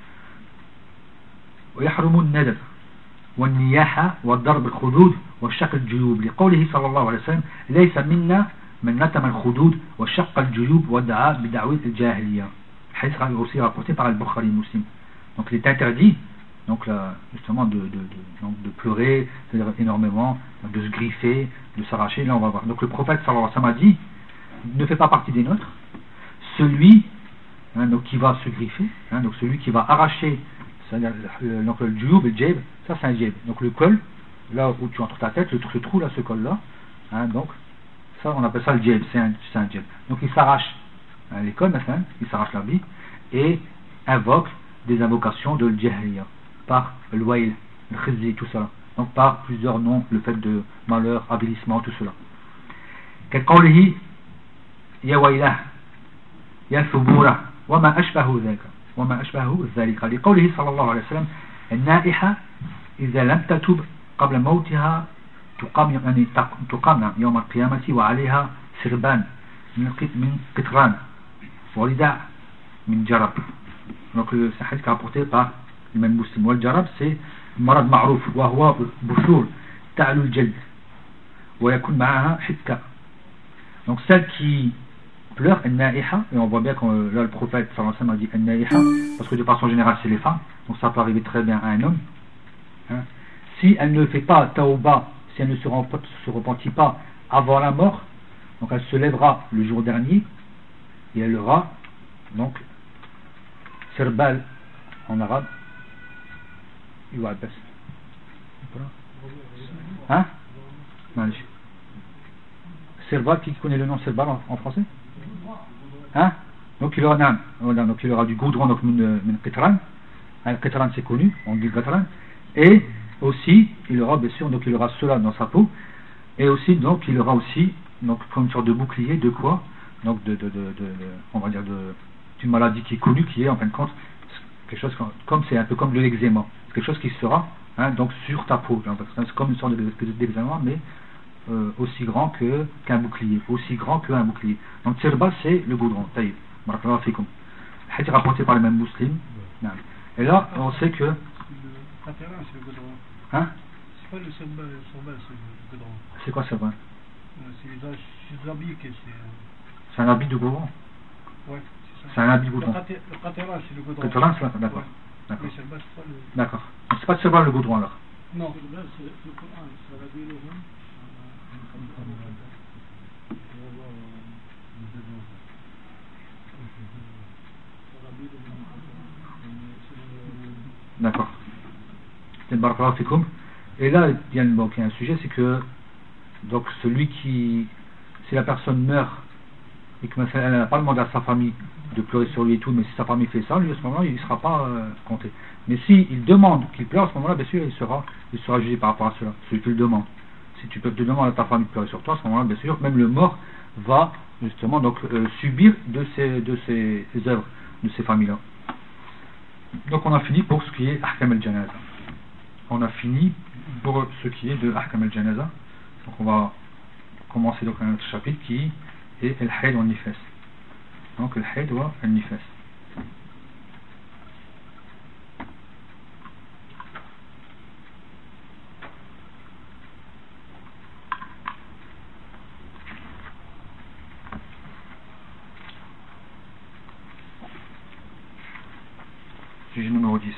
ويحرم الندب والنياحة والضرب الخدود والشق الجيوب لقوله صلى الله عليه وسلم ليس منا من نتم الخدود وشق الجيوب ودعا بدعوة الجاهلية. الحديث est aussi rapporté par Al-Bukhari Muslim. Donc il est interdit donc là, justement de, de, de, donc de pleurer, c'est-à-dire énormément, de se griffer, de s'arracher. Là on va voir. Donc le prophète sallallahu alayhi wa sallam a dit ne fait pas partie des nôtres celui hein, donc, qui va se griffer, hein, donc celui qui va arracher. Donc le djoub et le djeb, ça c'est un djeb. Donc le col, là où tu entres ta tête, le, le trou là, ce col là, hein, donc ça on appelle ça le djeb, c'est un, c'est un djeb. Donc il s'arrache hein, les cols, hein, il s'arrache la bille et invoque des invocations de l'jahriya par le wail, le khizi, tout ça. Donc par plusieurs noms, le fait de malheur, avilissement, tout cela. كقوله يا ويله يا ثبوره وما أشبه ذلك وما أشبه ذلك لقوله صلى الله عليه وسلم النائحة إذا لم تتب قبل موتها تقام يعني تقام يوم القيامة وعليها سربان من قطران ورداء من جرب. Donc euh, c'est un hadith rapporté par l'imam Muslim. Wal jarab c'est marad ma'rouf wa huwa bushur ta'lu al-jald wa yakun ma'aha hikka. Donc celle qui pleure, al-na'iha, et on voit bien que euh, là le prophète sallallahu alayhi wa sallam a dit al-na'iha parce que de façon générale c'est les femmes, donc ça peut arriver très bien à un homme. Hein. Si elle ne fait pas tauba, si elle ne se, se repentit pas avant la mort, donc elle se lèvera le jour dernier et elle aura donc sirbal en arabe. Hein? Sirbal, qui connaît le nom sirbal en, en français? Hein? Donc il aura, non, donc il aura du goudron, donc min qitran. Un qitran c'est connu, on dit qitran. Et aussi il aura bien sûr, donc il aura cela dans sa peau. Et aussi donc il aura aussi donc comme une sorte de bouclier de quoi? Donc de, de, de, de, de on va dire de d'une maladie qui est connue, qui est en fin de compte quelque chose comme, comme c'est un peu comme de l'eczéma, quelque chose qui sera hein, donc sur ta peau. C'est comme une sorte d'eczéma, mais euh, aussi grand que qu'un bouclier, aussi grand qu'un bouclier. Donc tirba c'est le goudron. Taïb. Barakallahu fikum. Hadith rapporté par les mêmes musulmans. Et là on sait que. Le qatran c'est le goudron. Hein? C'est pas le tirba, le tirba c'est le goudron. C'est quoi tirba? C'est les habits que c'est. C'est un habit de goudron. Ouais. C'est un habit de goudron. Le qatran c'est le goudron. Le qatran c'est d'accord. Ouais. D'accord. Le tirba c'est pas le. D'accord. C'est pas tirba le goudron alors. Non. Le tirba c'est le Coran, c'est la Bible. D'accord. Et là, il y a, bon, il y a un sujet, c'est que donc celui qui, si la personne meurt et que elle n'a pas demandé à sa famille de pleurer sur lui et tout, mais si sa famille fait ça, lui à ce moment-là, il ne sera pas euh, compté. Mais si il demande qu'il pleure à ce moment-là, bien sûr, il sera, il sera jugé par rapport à cela. Celui qui le demande. Si tu peux te demander à ta famille de pleurer sur toi, à ce moment-là, bien sûr, même le mort va justement donc euh, subir de ces de ces œuvres de ces familles-là. Donc on a fini pour ce qui est Ahkam al-Janaza. On a fini pour ce qui est de Ahkam al-Janaza. Donc on va commencer donc un autre chapitre qui est Al-Hayd wa Al-Nifas. Donc Al-Hayd wa Al-Nifas. Sujet numéro dix.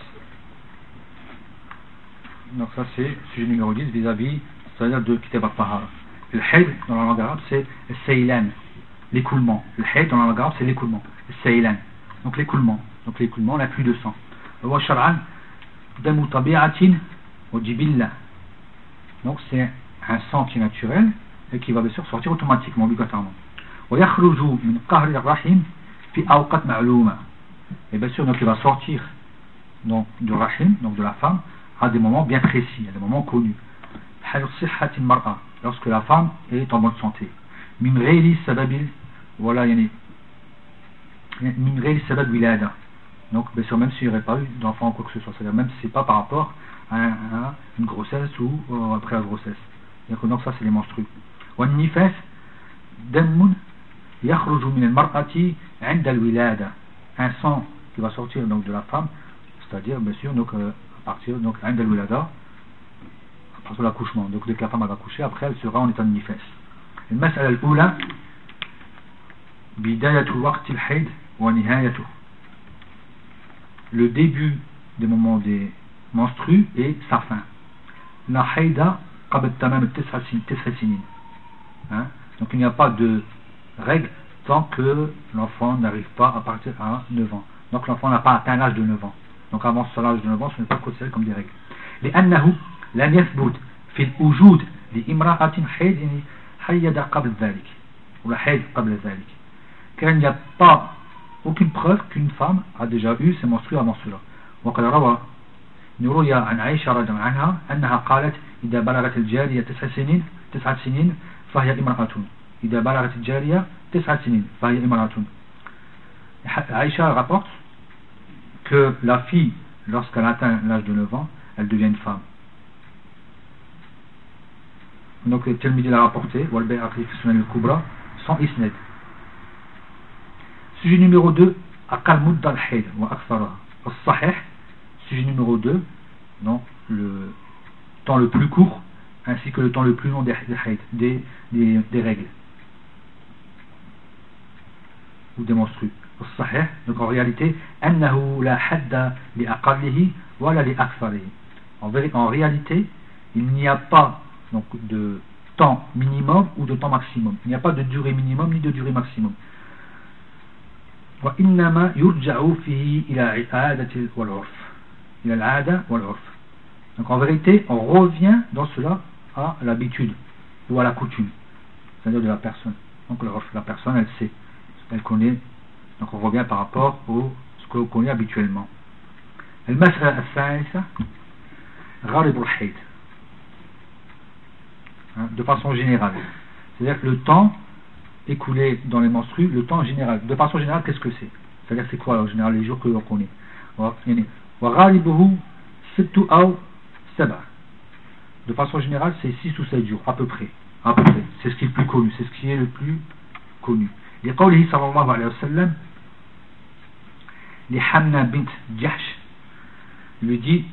Donc ça c'est sujet numéro dix vis-à-vis, c'est-à-dire de Kitab al-Tahara. Le hayd dans la langue arabe c'est le saylan, l'écoulement. Le hayd dans la langue arabe c'est l'écoulement, le saylan. Donc l'écoulement, donc l'écoulement, la pluie de sang. Wa shar'an damu tabi'atin wa jibilla. Donc c'est un sang qui est naturel et qui va bien sûr sortir automatiquement, obligatoirement. Wa yakhruju min qahri ar-rahim fi awqat ma'luma. Et bien sûr donc il va sortir donc du rahim, donc de la femme, à des moments bien précis, à des moments connus. Lorsque la femme est en bonne santé. Min ghayri sababil, voilà, yani, min ghayri sabab wilada. Donc bien sûr même s'il n'y aurait pas eu d'enfant ou quoi que ce soit, c'est-à-dire même si c'est pas par rapport à, un, à une grossesse ou euh, après la grossesse. Donc ça c'est les menstrues. Wa nifas damun yakhruju min al-mar'ati 'inda al-wilada. Un sang qui va sortir donc de la femme, c'est-à-dire bien sûr donc euh, à partir donc à partir de l'accouchement. Donc dès que la femme va accoucher, après elle sera en état de nifas. المسألة الأولى بداية وقت الحيض ونهايته. Le début des moments des menstrues et sa fin. La haïda قبل تمام التسع سنين. Hein? Donc il n'y a pas de règle tant que l'enfant n'arrive pas à partir à neuf ans. Donc l'enfant n'a pas atteint l'âge de neuf ans. Donc avant ce l'âge de neuf ans, ce n'est pas considéré comme des règles. لأنه لم يثبت في الوجود لامرأة حيض حيض قبل ذلك ولا حيض قبل ذلك. Car il n'y a pas aucune preuve qu'une femme a déjà eu ses menstrues avant cela. وقد روى نروي عن عائشة رضي الله عنها أنها قالت إذا بلغت الجارية تسع سنين تسع سنين فهي امرأة. إذا بلغت الجارية تسع سنين فهي امرأة. Aïcha rapporte que la fille, lorsqu'elle atteint l'âge de neuf ans, elle devient une femme. Donc le Tirmidhi l'a rapporté, Wal-Bayhaqi fi Sunan al-Kubra, sans isnad. Sujet numéro deux, أقل مدة الحيض وأكثرها. الصحيح, sujet numéro deux, donc le temps le plus court ainsi que le temps le plus long des, des, des, des règles ou des menstrues. الصحيح, donc en réalité, أنه لا حد لأقله ولا لأكثره. En, en réalité, il n'y a pas donc de temps minimum ou de temps maximum. Il n'y a pas de durée minimum ni de durée maximum. وإنما يرجع فيه إلى العادة والعرف. إلى العادة والعرف. Donc en vérité, on revient dans cela à l'habitude ou à la coutume, c'est-à-dire de la personne. Donc la personne, elle sait, elle connaît. Donc on revient par rapport à ce qu'on connaît habituellement. المسألة الثالثة غالب الحيض, de façon générale. C'est-à-dire que le temps écoulé dans les menstrues, le temps général. De façon générale, qu'est-ce que c'est? C'est-à-dire c'est quoi en général les jours que l'on connaît? وغالبه ست أو سبع. De façon générale, c'est six ou sept jours, à peu près. À peu près. C'est ce qui est le plus connu. C'est ce qui est le plus connu. لقوله صلى الله عليه وسلم لحمنا بنت جحش, lui dit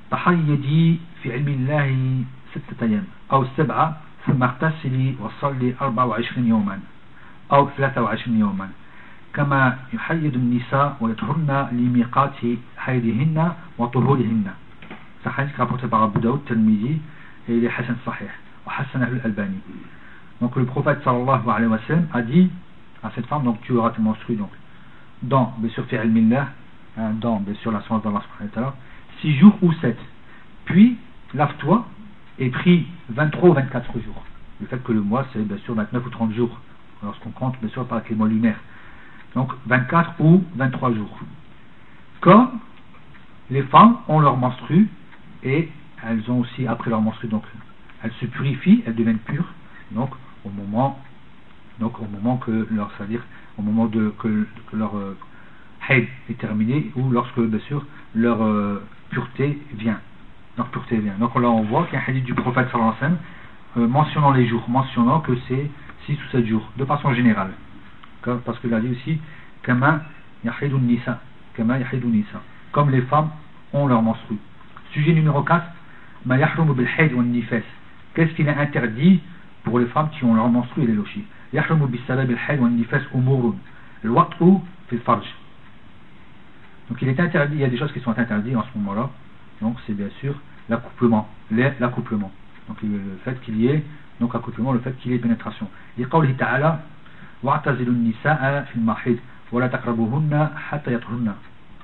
تحيدي في علم الله ستة أيام أو سبعة ثم اغتسلي وصلي أربعة وعشرين يوما أو ثلاثة وعشرين يوما كما يحيد النساء ويطهرن لميقات حيضهن وطهورهن. C'est un hadith rapporté par Abu Daoud, Tirmidhi, et il est Hassan Sahih, ou Hassan al-Albani. Donc le prophète sallallahu alayhi wa sallam a dit à cette femme, donc tu auras tes menstrues, donc dans, bien sûr, fi'al millah, hein, dans, bien sûr, la science d'Allah subhanahu wa ta'ala, six jours ou sept. Puis, lave-toi et prie vingt-trois ou vingt-quatre jours. Le fait que le mois, c'est bien sûr vingt-neuf ou trente jours, lorsqu'on compte, bien sûr, par les mois lunaires. Donc, vingt-quatre ou vingt-trois jours. Comme les femmes ont leur menstrue, et elles ont aussi, après leur menstrue, donc, elles se purifient, elles deviennent pures, donc, au moment, donc, au moment que leur, c'est-à-dire, au moment de, que, que leur euh, haid est terminé, ou lorsque, bien sûr, leur euh, pureté vient. Leur pureté vient. Donc, là, on voit qu'il y a un hadith du prophète sallallahu alayhi wa sallam, euh, mentionnant les jours, mentionnant que c'est six ou sept jours, de façon générale. Parce qu'il a dit aussi, Kama yahidun nisa, Kama yahidun nisa, comme les femmes ont leur menstrue. Sujet numéro quatre, Ma yahrumu bil hayd wa nifas. Qu'est-ce qu'il est interdit pour les femmes qui ont leur menstrue et les lochis? Yahrumu bis salab bil hayd wa nifas umurun. Al-wat'u fil farj. Donc il est interdit, il y a des choses qui sont interdites en ce moment-là. Donc c'est bien sûr l'accouplement, l'accouplement. Donc le fait qu'il y ait, donc accouplement, le fait qu'il y ait pénétration. لقوله تعالى واعتزلوا النساء في المحيض ولا تقربوهن حتى يطهرن.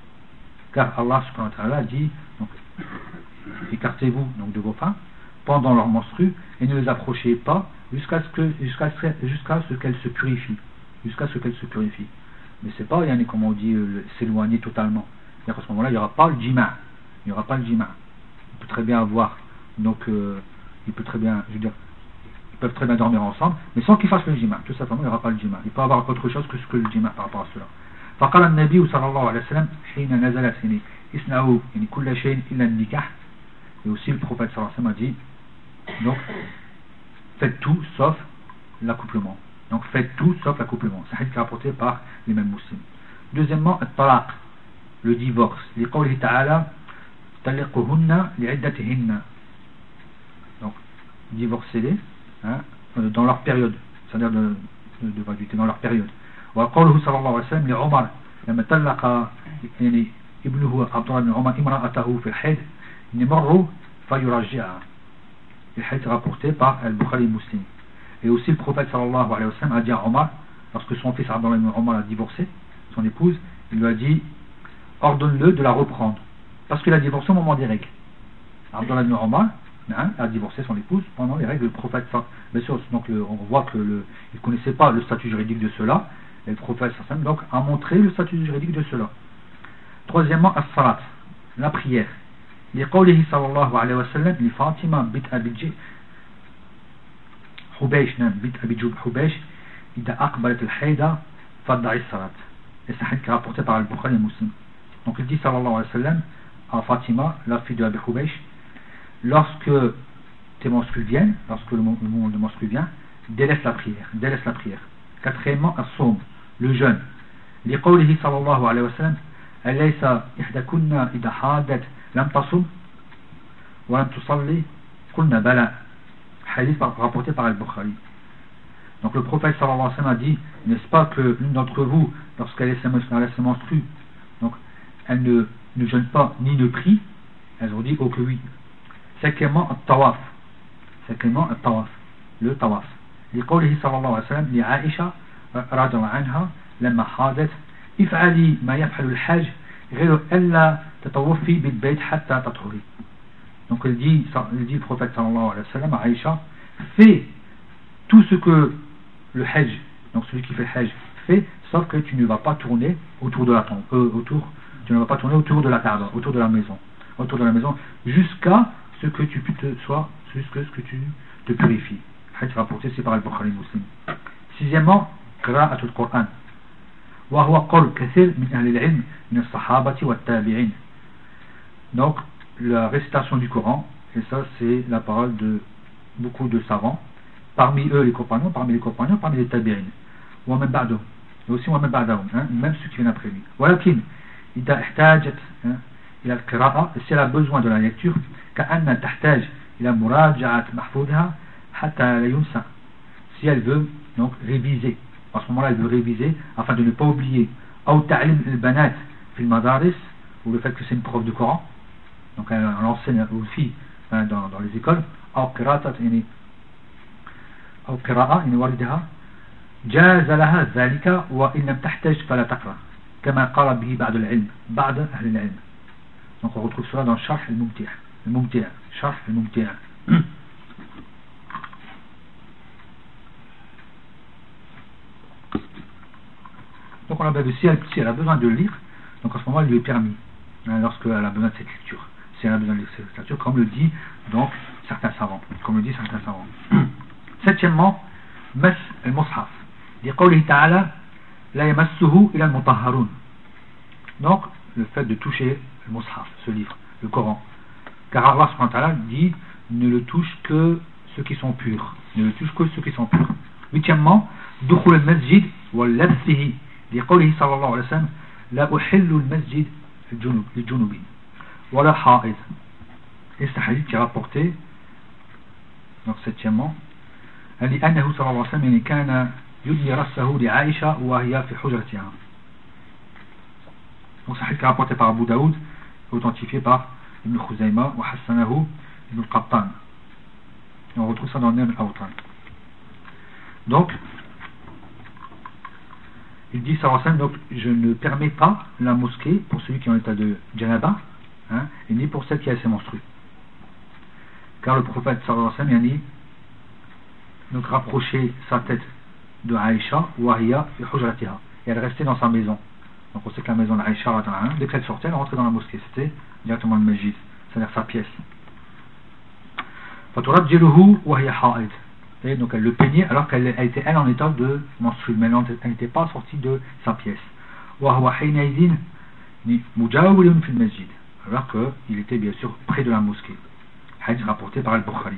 Car Allah subhanahu wa ta'ala dit, donc, écartez-vous donc de vos femmes pendant leur menstrue et ne les approchez pas jusqu'à ce que jusqu'à jusqu'à ce qu'elles se purifient, jusqu'à ce qu'elles se purifient. Mais c'est pas, yani, comme on dit, euh, s'éloigner totalement. C'est-à-dire qu'à ce moment-là, il n'y aura pas le jima, il n'y aura pas le jima. On peut très bien avoir, donc, euh, il peut très bien, je veux dire, ils peuvent très bien dormir ensemble, mais sans qu'ils fassent le jima. Tout simplement, il n'y aura pas le jima. Il peut y avoir autre chose que ce que le jima par rapport à cela. فقال النبي صلى الله عليه وسلم حين نزلت يعني اصنعوا يعني كل شيء إلا النكاح. Et aussi le prophète sallallahu alayhi wa sallam a dit, donc faites tout sauf l'accouplement. Donc faites tout sauf l'accouplement. C'est un hadith rapporté par les mêmes musulmans. Deuxièmement, at-talaq, le divorce. لقوله تعالى طلقوهن لعدتهن. Donc divorcez-les, hein, dans leur période, c'est-à-dire de, de, de gratuité, dans leur période. وقوله صلى الله عليه وسلم لعمر لما طلق يعني ابنه عبد الله بن عمر امرأته في الحيض نمر فيرجعها. Le hadith rapporté par Al-Bukhari Muslim. Et aussi le prophète sallallahu alayhi wa sallam a dit à Omar, lorsque son fils Abdullah ibn Omar a divorcé son épouse, il lui a dit ordonne-le de la reprendre parce qu'il a divorcé au moment des règles. Abdullah ibn Omar hein, a divorcé son épouse pendant les règles. Le prophète, bien sûr, donc le, on voit que le, il ne connaissait pas le statut juridique de cela, et le prophète donc a montré le statut juridique de cela. Troisièmement, as-salat, la prière. لقوله صلى الله عليه وسلم لفاطمة بنت أبي حبيش نعم بنت أبي حبيش إذا أقبلت الحيضة فضعي الصلاة. Et c'est un hadith rapporté par Al-Bukhari et Muslim. Donc il dit sallallahu alayhi wa sallam à Fatima, la fille de Abi Hubaysh, lorsque tes menstrues viennent, lorsque le moment de menstrues vient, délaisse la prière, délaisse la prière. Quatrièmement, as-sawm, le jeûne. لقوله صلى الله عليه وسلم أليس إحداكن إذا حادت لم تصم ولم تصلي قلنا بلى, hadith rapporté par Al-Bukhari. Donc le prophète sallallahu alayhi wa sallam a dit, n'est-ce pas que l'une d'entre vous, lorsqu'elle se menstrue, donc elle ne, ne jeûne pas ni ne prie? Elles ont dit oh que oui. Cinquièmement, at-tawaf. Cinquièmement, at-tawaf. Le tawaf. لقوله صلى الله عليه وسلم لعائشة رضي الله عنها لما حاضت افعلي ما يفعل الحاج غير ألا تطوفي بالبيت حتى تطهري. Donc il dit, il dit le prophète sallallahu alayhi wa sallam à Aïcha, fais tout ce que le hajj, donc celui qui fait le hajj, fait, sauf que tu ne vas pas tourner autour de la tombe, euh, autour, tu ne vas pas tourner autour de la Kaaba, autour de la maison, autour de la maison, jusqu'à ce que tu te sois, jusqu'à ce que tu te purifies. Hadith rapporté, c'est par Al-Bukhari Muslim. Sixièmement, قراءة القرآن وهو قول كثير من أهل العلم من الصحابة والتابعين. Donc la récitation du Coran, et ça c'est la parole de beaucoup de savants, parmi eux les compagnons, parmi les compagnons, parmi les tabi'in, ومن بعدهم, et aussi ومن بعدهم, hein, même ceux qui viennent après lui. ولكن إذا احتاجت إلى القراءة, si elle a besoin de la lecture, كأن تحتاج إلى مراجعة محفوظها حتى لا ينسى, si elle veut donc réviser, à ce moment-là elle veut réviser afin de ne pas oublier, أو تعليم البنات في المدارس, ou le fait que c'est une prof de Coran, donc elle, elle enseigne aux filles hein, dans, dans les écoles, أو قراءة يعني أو قراءة يعني والدها جاز لها ذلك وإن لم تحتاج فلا تقرأ كما قال به بعض العلم بعض أهل العلم. Donc on retrouve cela dans Sharh al-Mumti', al-Mumti', Sharh al-Mumti'. Donc on a vu si elle, si elle a besoin de lire, donc à ce moment il lui est permis, hein, lorsqu'elle a besoin de cette lecture, si elle a besoin de cette lecture, comme le dit donc certains savants, comme le dit certains savants. Septièmement, mas al-mushaf, liqawlihi ta'ala la yamassuhu ila al-mutahharun. Donc le fait de toucher le mushaf, ce livre, le Coran, car Allah subhanahu wa ta'ala dit ne le touche que ceux qui sont purs, ne le touche que ceux qui sont purs. Huitièmement, dukhul al-masjid wa labsihi, liqawlihi sallallahu alayhi wa sallam la uhillu al-masjid al-junubin wa la ha'id. Et c'est un hadith qui est rapporté, donc septièmement, لأنه صلى الله عليه وسلم كان يدني رأسه لعائشة وهي في حجرتها. Donc c'est un hadith qui est rapporté par Abu Daoud, authentifié par Ibn Khuzayma wa Hassanahu Ibn Qattan. Et on retrouve ça dans le Nail al-Awtan. Donc il dit sallallahu alayhi wa sallam, donc je ne permets pas la mosquée pour celui qui est en état de janaba, hein, et ni pour celle qui a ses menstrues, car le prophète sallallahu alayhi wa sallam a dit donc rapprocher sa tête de Aïcha ou Ahiya fi hujratiha, et elle restait dans sa maison. Donc on sait que la maison d'Aïcha, dès qu'elle sortait elle rentrait dans la mosquée, c'était directement le masjid, c'est-à-dire sa pièce. faturajjiluhu wa hiya ha'id, et donc elle le peignait alors qu'elle était elle en état de menstruée, mais elle n'était pas sortie de sa pièce. Wa huwa hinaydin mujawilun fi al-masjid, alors qu'il était bien sûr près de la mosquée. Hadith rapporté par Al-Bukhari.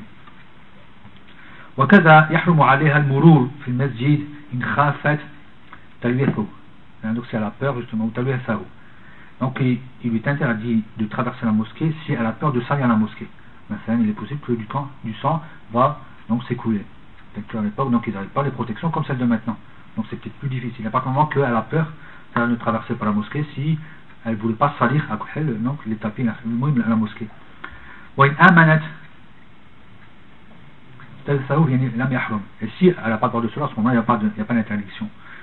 وكذا يحرم عليها المرور في المسجد إن خافت تلوثه. Donc si elle a peur justement, ou تلوثه. Donc il, il lui est interdit de traverser la mosquée si elle a peur de salir la mosquée. Maintenant il est possible que du, temps, du sang va donc s'écouler. À l'époque donc ils n'avaient pas les protections comme celle de maintenant. Donc c'est peut-être plus difficile. À partir du moment qu'elle a peur, elle ne traversait pas la mosquée si elle ne voulait pas salir après donc les tapis la, la mosquée. وإن آمنت et si elle n'a pas peur de cela, à ce moment-là, il n'y a pas, de, il y a pas d'interdiction.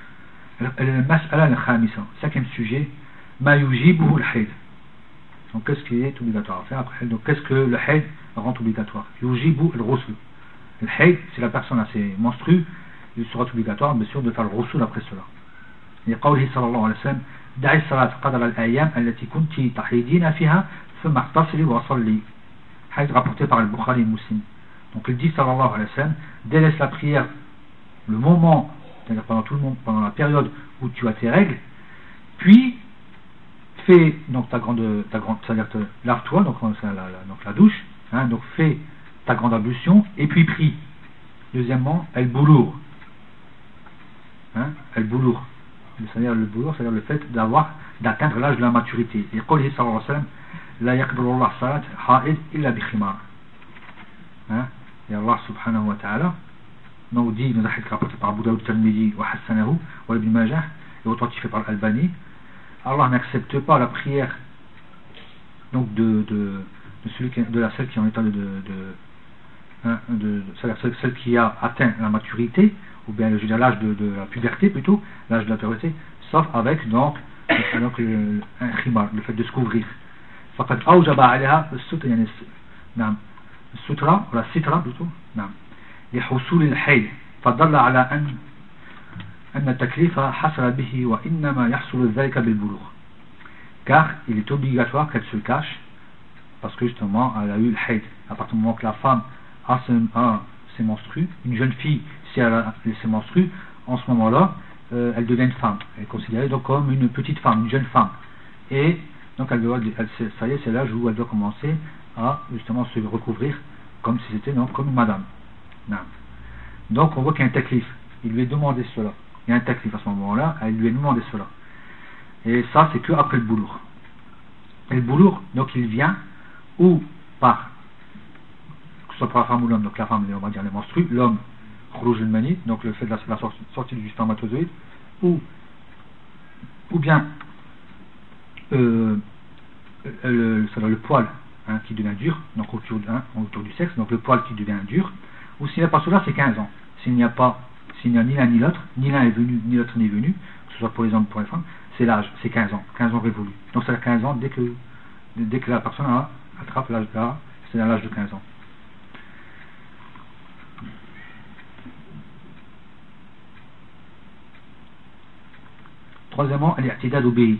Cinquième sujet, ma yujibuhu al-hayd. Donc qu'est-ce qui est obligatoire à faire après? Donc qu'est-ce que le hayd rend obligatoire? Yujibu al-ghusl. Le hayd, si la personne a ses menstrues, il sera obligatoire bien sûr de faire le ghusl après cela. Et qawlihi sallallahu alayhi wa sallam da'i salat qadra al-ayyam allati kunti tahidina fiha thumma ightasili wa salli. Hadith rapporté par Al-Bukhari et Muslim. Donc il dit sallallahu alayhi wa sallam, délaisse la prière le moment, c'est-à-dire pendant tout le monde, pendant la période où tu as tes règles, puis fais donc ta grande, ta grande, c'est-à-dire lave-toi, donc la, la, donc la douche, hein, donc fais ta grande ablution et puis prie. Deuxièmement, el boulour, hein, el boulour, c'est-à-dire le boulot, c'est-à-dire le fait d'avoir, d'atteindre l'âge de la maturité. Et قوله صلى الله عليه وسلم لا يقبل الله صلاة حائض إلا بخمار. Hein? Et Allah subhanahu wa ta'ala nous dit, nous a rapporté par Abu Daoud al-Tirmidhi wa Hassanahu wa Ibn Majah et authentifié par Al-Albani, Allah n'accepte pas la prière donc de, de, de, celui qui, de la celle qui est en état de, de, de, hein, de, de celle, celle qui a atteint la maturité, ou bien je veux dire l'âge de, de la puberté plutôt, l'âge de la puberté, sauf avec donc, donc le, un khimar, le fait de se couvrir. فقد أوجب عليها السترة يعني نعم السترة ولا السترة plutôt نعم لحصول الحيل فدل على أن أن التكليف حصل به وإنما يحصل ذلك بالبلوغ, car il est obligatoire qu'elle se cache parce que justement elle a eu le hayd. À partir du moment que la femme a ses, a ses menstrues, une jeune fille si elle a ses menstrues, en ce moment là euh, elle devient une femme, elle est considérée donc comme une petite femme, une jeune femme, et donc elle doit, elle, ça y est, c'est l'âge où elle doit commencer à justement se recouvrir comme si c'était donc comme une madame. Non. Donc on voit qu'il y a un taklif, il lui est demandé cela, il y a un taklif à ce moment là, elle lui est demandé cela, et ça c'est que après le boulour. Et le boulour donc il vient ou par, que ce soit pour la femme ou l'homme, donc la femme on va dire les menstrues, l'homme khrouj al-mani, donc le fait de la, la sortie, sortie du spermatozoïde, ou ou bien euh, le, le, le poil hein, qui devient dur, donc autour, hein, autour du sexe, donc le poil qui devient dur, ou s'il n'y a pas cela c'est quinze ans. S'il n'y a pas, s'il n'y a ni l'un ni l'autre, ni l'un est venu, ni l'autre n'est venu, que ce soit pour les hommes ou pour les femmes, c'est l'âge, c'est quinze ans, quinze ans révolus. Donc c'est à quinze ans dès que, dès que la personne a, attrape l'âge là, c'est à l'âge de quinze ans. Troisièmement, al-i'tidad bihi.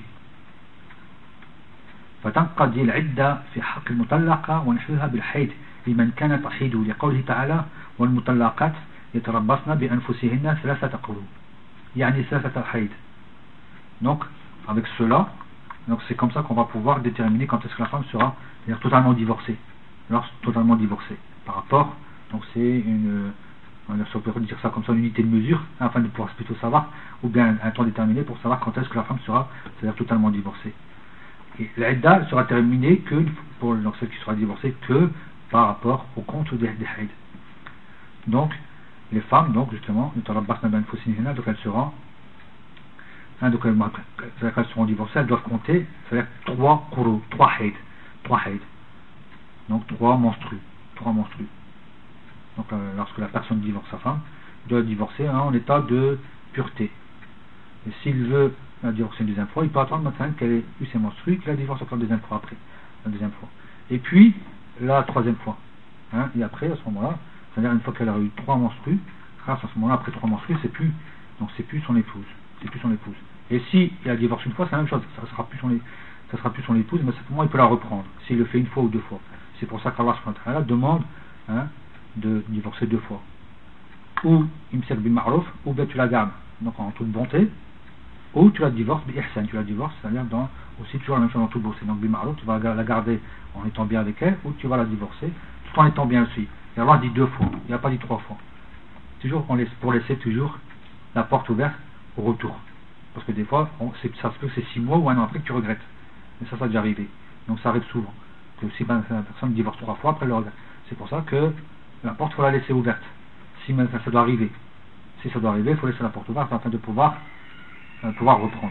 فتنقضي العدة في حق المطلقة ونحوها بالحيض لمن كان تحيض لقوله تعالى والمطلقات يتربصن بأنفسهن ثلاثة قروء يعني ثلاثة حيض. Donc avec cela, donc c'est comme ça qu'on va pouvoir déterminer quand est-ce que la femme sera c'est-à-dire totalement divorcée, alors totalement divorcée par rapport, donc c'est une, on peut dire ça comme ça, une unité de mesure afin de pouvoir plutôt savoir, ou bien un temps déterminé pour savoir quand est-ce que la femme sera c'est-à-dire totalement divorcée. Et l'idda sera terminée que pour donc celle qui sera divorcée que par rapport au compte des, des haïd. Donc les femmes donc justement donc elles seront hein, donc elles, elles seront divorcées, elles doivent compter c'est-à-dire trois quru, trois haïd, trois haïd. Donc trois menstrues, trois menstrues. Donc euh, lorsque la personne divorce sa femme, il doit divorcer hein, en état de pureté. Et s'il veut la divorcer une deuxième fois, il peut attendre maintenant qu'elle ait eu ses menstrues, qu'il la divorce encore une deuxième fois après, la deuxième fois. Et puis la troisième fois. Hein, et après à ce moment-là, c'est-à-dire une fois qu'elle a eu trois menstrues, à ce moment-là après trois menstrues, c'est plus, donc c'est plus son épouse, c'est plus son épouse. Et si il a divorcé une fois, c'est la même chose, ça sera plus son, ça sera plus son épouse, mais simplement il peut la reprendre s'il le fait une fois ou deux fois. C'est pour ça qu'Allah subhanahu wa ta'ala demande hein, de divorcer deux fois. Ou imsak bil ma'ruf, ou bien tu la gardes donc en toute bonté, ou tu la divorces bi ihsan, tu la divorces, c'est-à-dire dans aussi toujours la même chose dans toute bonté. Donc bil ma'ruf, tu vas la garder en étant bien avec elle, ou tu vas la divorcer tout en étant bien aussi. Et Allah dit deux fois, il n'a pas dit trois fois. Toujours on laisse, pour laisser toujours la porte ouverte au retour. Parce que des fois, on, ça se peut que c'est six mois ou un an après que tu regrettes. Mais ça, ça a déjà arrivé. Donc ça arrive souvent. Que si ben, la personne divorce trois fois, après elle le regrette. C'est pour ça que la porte, il faut la laisser ouverte. Si ben, ça doit arriver. Si ça doit arriver, il faut laisser la porte ouverte afin de pouvoir, euh, pouvoir reprendre.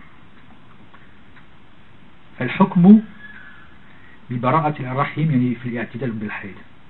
الحكم ببراءة الرحم يعني في الاعتدال بالحيض.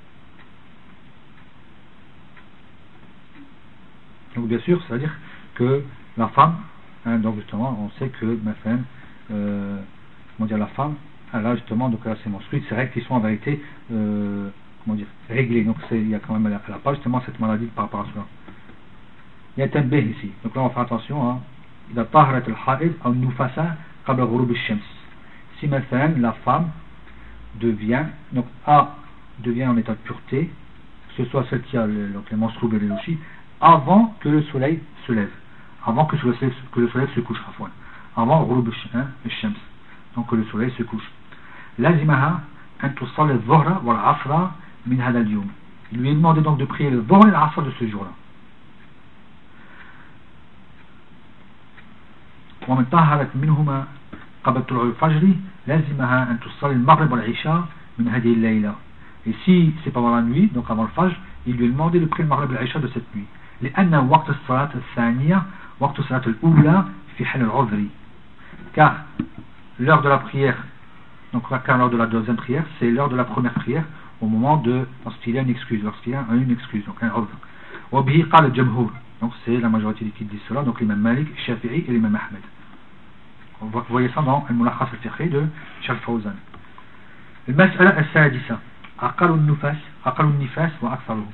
Donc bien sûr, c'est-à-dire que la femme, hein, donc justement, on sait que ma femme, euh, comment dire, la femme, elle a justement donc elle a ses menstrues, ces règles qui sont en vérité, euh, comment dire, réglées. Donc c'est, il y a quand même, elle n'a pas justement cette maladie par rapport à cela. Il y a un B ici. Donc là on va faire attention. Hein. إذا طهرت الحائض أو النفساء قبل غروب الشمس. Si ma femme, la femme, devient, donc A devient en état de pureté, que ce soit celle qui a le, donc les menstrues et les lochis, avant que le soleil se lève, avant que le soleil, que le soleil se couche, avant غروب الشمس, donc que le soleil se couche. لازمها أن تصلي الظهر والعصر من هذا اليوم. Il lui est demandé donc de prier le Dhuhr et l'Asr de ce jour-là. ومن طهرت منهما قبل طلوع الفجر لازمها أن تصلي المغرب والعشاء من هذه الليلة. Et si c'est pendant la nuit, donc avant le fajr, il lui est demandé de prier le maghrib et l'isha de cette nuit. لأن وقت الصلاة الثانية وقت الصلاة الأولى في حال العذر. Car l'heure de la prière, donc car l'heure de la deuxième prière, c'est l'heure de la première prière au moment de lorsqu'il y a une excuse, lorsqu'il y a une excuse, donc un udhr. وبه قال الجمهور. Donc c'est la majorité qui dit cela, donc l'imam Malik, Shafi'i et l'imam Ahmed. Vous voyez ça dans Al-Mulakhas al-Fiqhi de Cheikh Fawzan. المسألة السادسة أقل النفاس أقل النفاس وأكثره.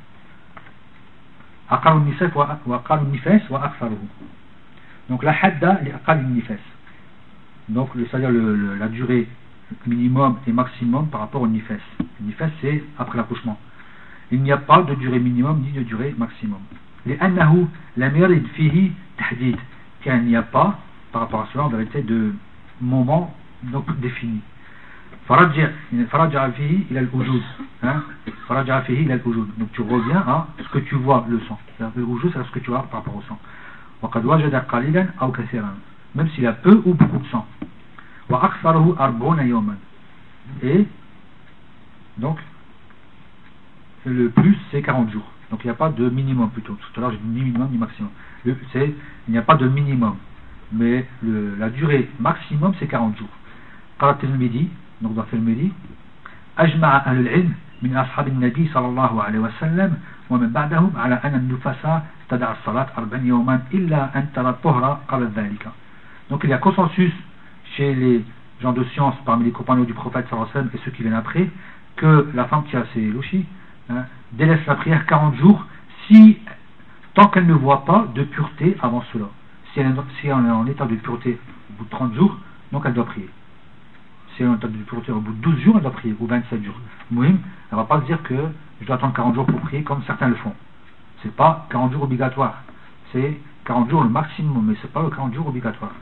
أقل النفاس وأقل النفاس وأكثره. Donc la hadda لأقل النفاس. Donc c'est-à-dire le, le, la durée minimum et maximum par rapport au nifas. Le nifas c'est après l'accouchement. Il n'y a pas de durée minimum ni de durée maximum. لأنه لم يرد فيه تحديد. Car il n'y a pas par rapport à cela en vérité de moment donc défini. فرجع فرجع فيه إلى الوجود. فرجع فيه إلى الوجود. Donc tu reviens à ce que tu vois le sang. Le wujud c'est ce que tu vois par rapport au sang. وقد وجد قليلا أو كثيرا. Même s'il y a peu ou beaucoup de sang. وأكثره أربعون يوما. Et donc le plus c'est quarante jours. Donc il n'y a pas de minimum plutôt. Tout à l'heure j'ai dit ni minimum ni maximum. Le, c'est, il n'y a pas de minimum. Mais le, la durée maximum c'est quarante jours. قال الترمذي donc dans Tirmidhi أجمع أهل العلم من أصحاب النبي صلى الله عليه وسلم ومن بعدهم على أن النفساء تدع الصلاة أربعين يوما إلا أن ترى الطهر قبل ذلك. Donc il y a consensus chez les gens de science parmi les compagnons du prophète sallallahu alayhi wa sallam et ceux qui viennent après que la femme qui a ses louchis hein, délaisse la prière quarante jours si tant qu'elle ne voit pas de pureté avant cela. Si elle, si elle est en état de pureté au bout de trente jours, donc elle doit prier. Si elle est en état de pureté au bout de douze jours, elle doit prier, ou vingt-sept jours. Mouhim, elle ne va pas se dire que je dois attendre quarante jours pour prier comme certains le font. C'est pas quarante jours obligatoire. C'est quarante jours le maximum, mais c'est pas le quarante jours obligatoire.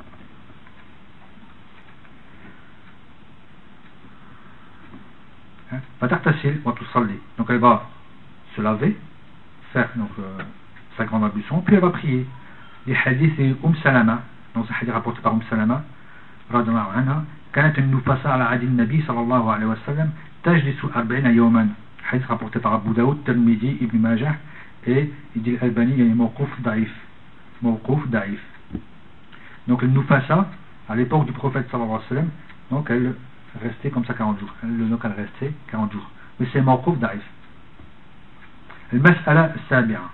فتغتسل وتصلي. Donc elle va se laver, faire donc euh, sa grande ablution, puis elle va prier. Les hadiths Umm Salama, donc c'est un hadith rapporté par Umm Salama, radhiyallahu anha, كانت النفساء على عهد النبي صلى الله عليه وسلم تجلس أربعين يوما. Hadith rapporté par Abu Daoud, Tirmidhi, Ibn Majah et il dit l'Albani, il y a mawquf da'if. Mawquf da'if. Donc le nufasa, à l'époque du prophète sallallahu alayhi wa sallam, donc elle restait comme ça quarante jours. Elle, donc elle restait quarante jours. Mais c'est mawquf da'if. المسألة السابعة.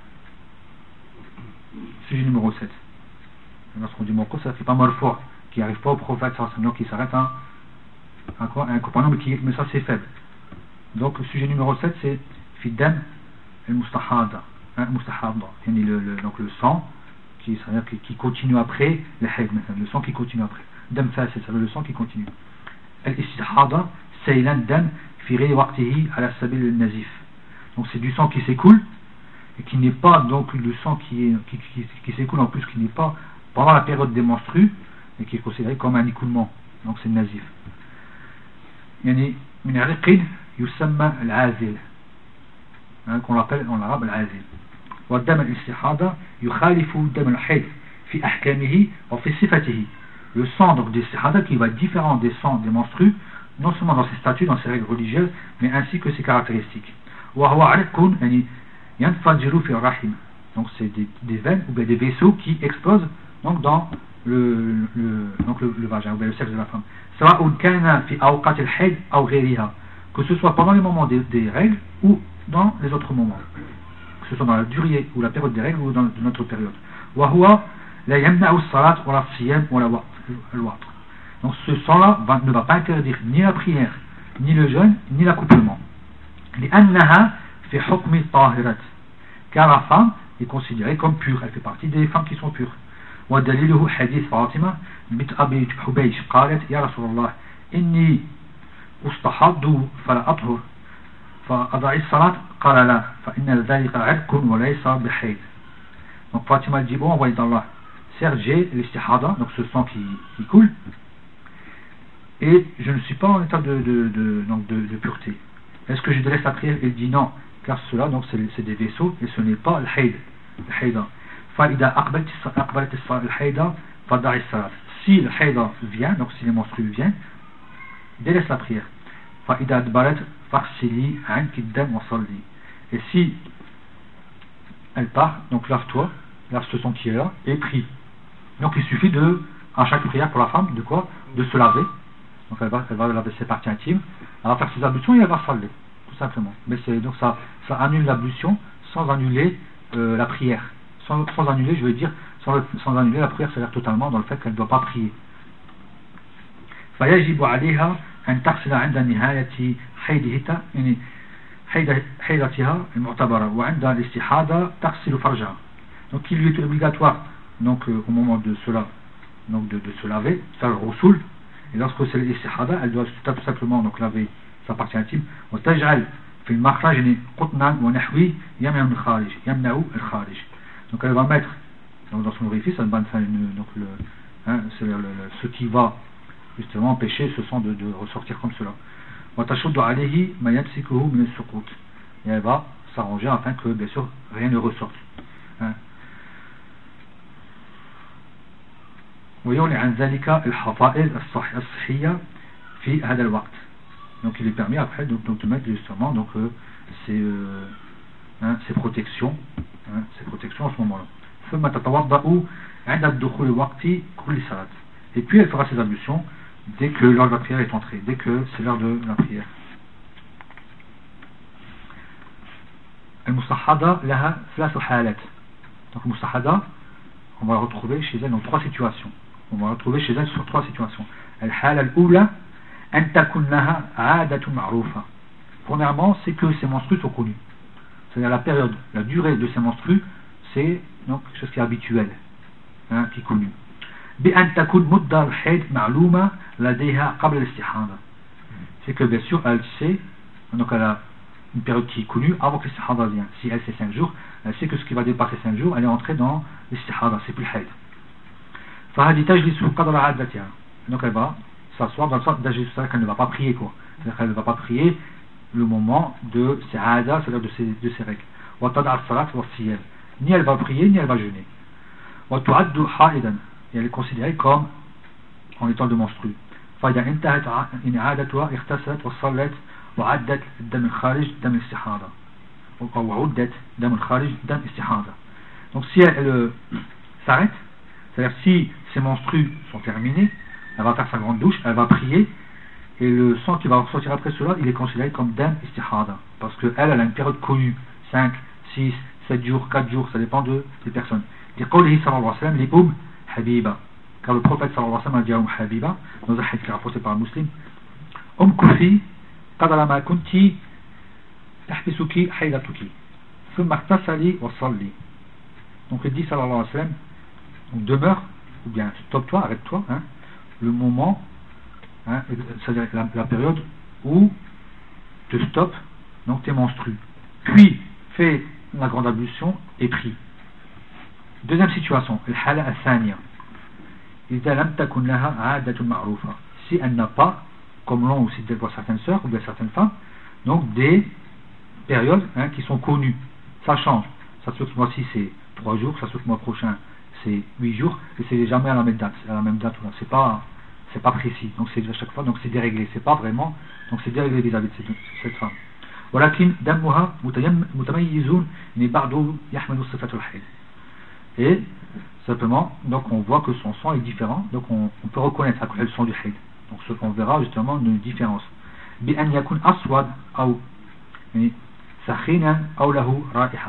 Sujet numéro sept. Lorsqu'on dit mawquf, ça ne fait pas marfu', qui n'arrive pas au prophète sallallahu alayhi wa sallam, donc qui s'arrête à, à quoi, un compagnon, mais, qui, mais ça c'est faible. Donc le sujet numéro sept c'est Fiddam al-Mustahada. Hein, Mustahada. Le, le, donc le sang qui, qui, qui continue après le hayd, le sang qui continue après. Dam fasid, c'est le sang qui continue. Al-Istihada, Saylan Dam fi ghayri waqtihi ala sabil al-nazif. Donc c'est du sang qui s'écoule et qui n'est pas donc le sang qui, est, qui, qui, qui s'écoule en plus qui n'est pas pendant la période des menstrues et qui est considéré comme un écoulement. Donc c'est le nazif. Yani min ariqin يسمى العازل qu'on l'appelle en arabe العازل والدم الاستحاضة يخالف دم الحيض في أحكامه وفي صفته. Le sang donc des istihada qui va être différent des sangs des menstrues non seulement dans ses statuts, dans ses règles religieuses mais ainsi que ses caractéristiques. وهو عرق يعني ينفجر في الرحم. Donc c'est des, des veines ou bien des vaisseaux qui explosent donc dans le, le, donc le, le vagin ou bien le sexe de la femme. سواء كان في أوقات الحيض أو غيرها. Que ce soit pendant les moments des, des règles ou dans les autres moments, que ce soit dans la durée ou la période des règles ou dans une autre période. Donc ce sang-là va, ne va pas interdire ni la prière, ni le jeûne, ni l'accouplement. Car la femme est considérée comme pure, elle fait partie des femmes qui sont pures. ودليله حديث فاطمة بنت أبي حبيش قالت يا رسول الله إني أستحض فلا أطهر فأضعي الصلاة قال لا فإن ذلك عرق وليس بحيض. Donc Fatima dit bon envoyé d'Allah, certes j'ai l'istihada, donc ce sang qui, qui coule et je ne suis pas en état de, de, de, donc de, de pureté. Est-ce que je délaisse la prière? Il dit non, car cela donc c'est, c'est des vaisseaux et ce n'est pas le hayd, le hayda. فإذا أقبلت أقبلت الحيضة فضعي الصلاة. si le haïda vient, donc si les menstrues viennent, délaisse la prière. فإذا أدبرت فاغسلي عنك الدم وصلي. Et si elle part, donc lave-toi, lave ce sang qui est là, et prie. Donc il suffit de, à chaque prière pour la femme, de quoi? De se laver. Donc elle va, elle va laver ses parties intimes, elle va faire ses ablutions et elle va saler, tout simplement. Mais c'est, donc ça, ça annule l'ablution sans annuler euh, la prière. Sans, sans annuler, je veux dire, sans, sans annuler la prière, c'est-à-dire totalement dans le fait qu'elle ne doit pas prier. فيجب عليها أن تغسل عند نهاية حيضها يعني حيضتها المعتبرة وعند الاستحاضة تغسل فرجها. Donc il lui est obligatoire donc euh, au moment de cela donc de, de se laver, de faire le roussoul, et lorsque c'est l'istikhada, elle doit tout simplement donc laver sa partie intime. وتجعل في المخرج يعني قطنا ونحوي يمنع من الخارج يمنع الخارج. Donc elle va mettre donc dans son orifice, elle va faire une, donc le hein, c'est le, le, ce qui va justement empêcher ce sang de, de ressortir comme cela. وتشد عليه ما يمسكه من السقوط. Et elle va s'arranger afin que bien sûr rien ne ressorte. Hein. ويولي عن ذلك الحفائظ الصحية في هذا الوقت. Donc il est permis après donc, donc de mettre justement donc euh, ces, euh, hein, ces protections, hein, ces protections à ce moment-là. ثم تتوضأ عند الدخول وقت كل صلاة. Et puis elle fera ses ablutions dès que l'heure de la prière est entrée, dès que c'est l'heure de la prière. المستحاضة لها ثلاث حالات. Donc المستحاضة, on va la retrouver chez elle dans trois situations. On va la retrouver chez elle sur trois situations. الحالة الأولى أن تكون لها عادة معروفة. Premièrement, c'est que ces menstrues sont connues. C'est-à-dire la période, la durée de ces menstrues, c'est donc quelque chose qui est habituel, hein, qui est connu. بأن تكون مدة الحيض معلومة لديها قبل الاستحاضة. C'est que bien sûr elle sait, donc elle a une période qui est connue avant que l'istikhada vienne. Si elle c'est cinq jours, elle sait que ce qui va dépasser cinq jours, elle est entrée dans l'istikhada, c'est plus le hayd. فهذه تجلس قدر عادتها. Donc elle va s'asseoir dans le sens d'agir, c'est-à-dire qu'elle ne va pas prier quoi. C'est-à-dire qu'elle ne va pas prier le moment de ses aada, c'est-à-dire de ses, de ses règles. وتدع الصلاة والصيام. Ni elle va prier, ni elle va jeûner. وتعد حائضا. Et elle est considérée comme en étant de menstrue. فإذا انتهت عادتها اغتسلت وصلت وعدت الدم الخارج دم الاستحاضة أو عدت دم الخارج دم الاستحاضة. Donc si elle, elle euh, s'arrête, c'est-à-dire si ses menstrues sont terminées, elle va faire sa grande douche, elle va prier, et le sang qui va ressortir après cela, il est considéré comme dam istihada, parce qu'elle, elle a une période connue, cinq, six, sept jours, quatre jours, ça dépend de, des personnes. لقوله صلى الله عليه وسلم لأم حبيبة, car le prophète صلى الله عليه وسلم a dit à Umm Habiba, dans un hadith qui est rapporté par un musulman, أم كفي قدر ما كنت تحبسك حيضتك ثم اغتسلي وصلي. Donc il dit صلى الله عليه وسلم, donc demeure, ou bien stoppe-toi, arrête-toi, hein, le moment, hein, c'est-à-dire la, la période où te stoppe, donc tes menstrues. Puis fais la grande ablution et prie. Deuxième situation, الحالة الثانية إذا لم تكن لها عادة معروفة. Si elle n'a pas, comme l'ont aussi des fois certaines sœurs ou bien certaines femmes, donc des périodes hein, qui sont connues. Ça change. Ça se fait que ce mois-ci c'est trois jours, ça se fait que le mois prochain c'est huit jours, et c'est jamais à la même date. À la même date, c'est pas, c'est pas précis. Donc c'est à chaque fois, donc c'est déréglé. C'est pas vraiment, donc c'est déréglé vis-à-vis de cette, cette femme. ولكن دمها متميز من بعضه يحمل صفة الحيض. Et simplement, donc on voit que son sang est différent, donc on, on peut reconnaître à quoi le sang du hayd. Donc ce qu'on verra justement une différence. بأن يكون أسود أو يعني سخينا أو له رائحة.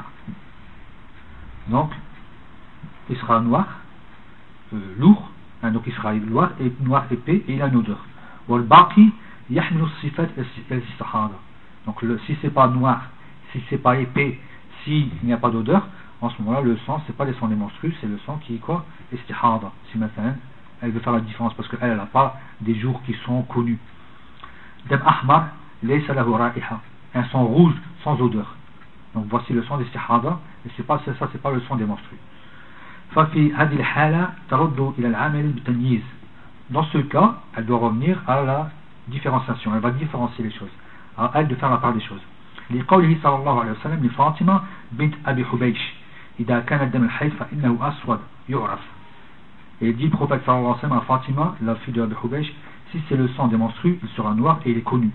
Donc il sera noir, euh, lourd, hein, donc il sera noir, et, noir épais et il a une odeur. والباقي يحمل الصفات الاستحاضة. Donc le, si c'est pas noir, si c'est pas épais, s'il n'y a pas d'odeur, en ce moment-là le sang c'est pas le sang des menstrues, c'est le sang qui est quoi, istihada. Si maintenant elle veut faire la différence parce qu'elle n'a pas des jours qui sont connus. Dam ahmar laysa lahu ra'iha, un sang rouge sans odeur. Donc voici le sang d'istihada, et c'est pas ça, c'est pas le sang des menstrues. ففي هذه الحالة ترد إلى العامل بالتمييز. Dans ce cas, elle doit revenir à la différenciation. Elle va différencier les choses. À elle de faire la part des choses. لقوله صلى الله عليه وسلم لفاطمة بنت أبي حبيش إذا كان الدم الحيض فإنه أسود يعرف. Et il dit le prophète sallallahu alayhi wa sallam à Fatima, la fille de Abi Hubaysh, si c'est le sang des menstrues, il sera noir et il est connu.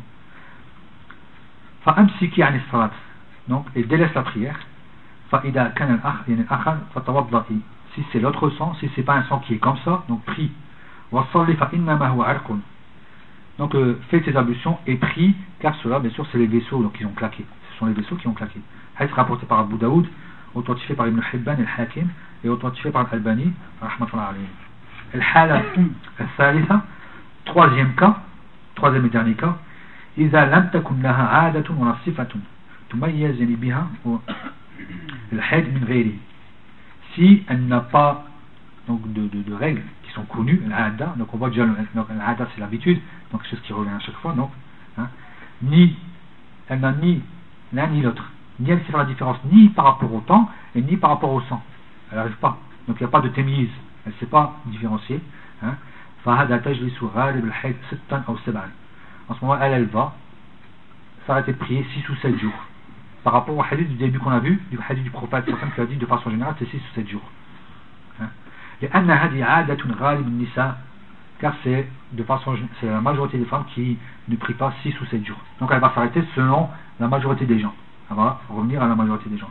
فأمسكي عن الصلاة. Donc, il délaisse la prière. فإذا كان الأخ يعني الآخر فتوضئي. Si c'est l'autre sang, si c'est pas un sang qui est comme ça, donc prie. وصلي فإنما هو عرق. Donc, euh, faites tes ablutions et prie, car cela, bien sûr, c'est les vaisseaux donc, qui ont claqué. Ce sont les vaisseaux qui ont claqué. Hadith rapporté par Abu Daoud, authentifié par Ibn Hibban et Al-Hakim, et authentifié par Al-Albani, rahmatullah alayhi. Al-Hala al-Thalitha, troisième cas, troisième et dernier cas, إذا لم تكن لها عادة ولا صفة تميز بها الحيض من غيره. Si elle n'a pas donc de, de, de règles qui sont connues, l'ada, donc on voit déjà l'ada c'est l'habitude, donc c'est ce qui revient à chaque fois, donc hein, ni elle n'a ni l'un ni l'autre, ni elle sait faire la différence ni par rapport au temps et ni par rapport au sang, elle n'arrive pas, donc il n'y a pas de témise, elle ne sait pas différencier. Hein. فهذا تجلس غالب الحيض ستا أو سبعا. En ce moment, elle, elle va s'arrêter de prier six ou sept jours. Par rapport au hadith du début qu'on a vu, du hadith du prophète, qui a dit de façon générale, c'est six ou sept jours. Hein. Car c'est de façon, c'est la majorité des femmes qui ne prient pas six ou sept jours. Donc elle va s'arrêter selon la majorité des gens. Elle va revenir à la majorité des gens.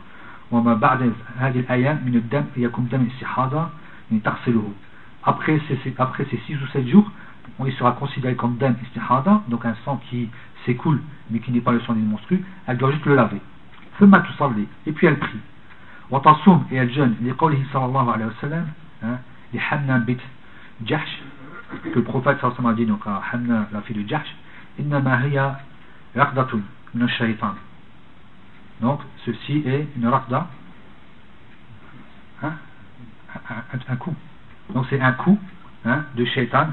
Après ces, après ces six ou sept jours, il sera considéré comme dam istihada, donc un sang qui s'écoule mais qui n'est pas le sang d'une menstrue. Elle doit juste le laver. Et puis elle prie. Et elle jeûne. Sallallahu alayhi wa sallam, les Hamna bit Jahsh, que le prophète sallallahu alayhi wa sallam a dit donc à Hamna, la fille de Jahsh, innama hiya raqdatun min ash-shaytan. Donc ceci est une raqda, hein, un, un, un coup. Donc c'est un coup hein, de shaitan.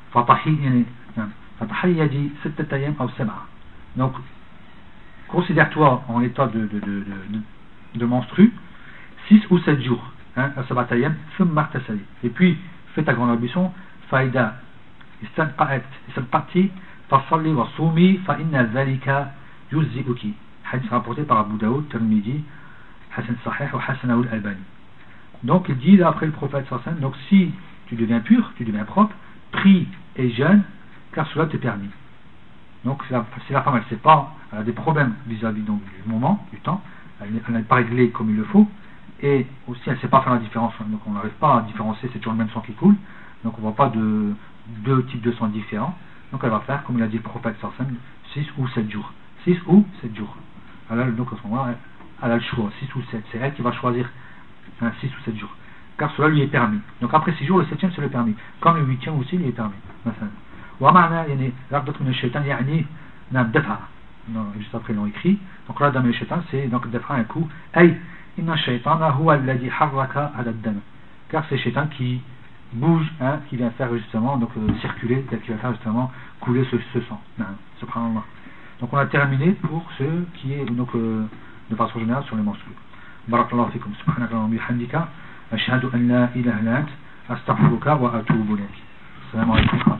Donc considère-toi en état de, de, de, de, de menstru six ou sept jours hein, et puis fais ta grande ablution faïda istanqa'at istanqati fasalli wa sumi fa inna dhalika yuzzi'uki. Hadith rapporté par Abu Daoud, Tirmidhi, Hasan Sahih ou Hasan al-Albani. Donc il dit là, après le prophète sallallahu alayhi wa sallam, donc si tu deviens pur, tu deviens propre, prie et jeûne, car cela te permet. Donc si la, si la femme elle sait pas, elle a des problèmes vis-à-vis donc, du moment, du temps, elle n'est pas réglée comme il le faut, et aussi elle ne sait pas faire la différence, donc on n'arrive pas à différencier, c'est toujours le même sang qui coule, donc on ne voit pas de deux types de sang différents, donc elle va faire comme il a dit le prophète sallallahu alayhi wa sallam, six ou sept jours, six ou sept jours. Alors donc à ce moment-là, elle, elle a le choix, six ou sept, c'est elle qui va choisir hein, six ou sept jours. Car cela lui est permis. Donc après six jours, le septième c'est le permis. Comme le huitième aussi, il est permis. ومعنى يعني رغبة من الشيطان يعني نعم دفع. Juste après ils l'ont écrit. Donc là, dans le shaitan, c'est donc دفع un coup. أي إن الشيطان هو الذي حرك هذا الدم. Car c'est le shaitan qui bouge, hein, qui vient faire justement donc euh, circuler, qui va faire justement couler ce, ce sang. Subhanallah. Donc on a terminé pour ce qui est donc euh, de façon générale sur les menstrues. Barakallahu fikum. Subhanallah wa bihamdika. أشهد أن لا إله إلا أنت أستغفرك وأتوب إليك. السلام عليكم.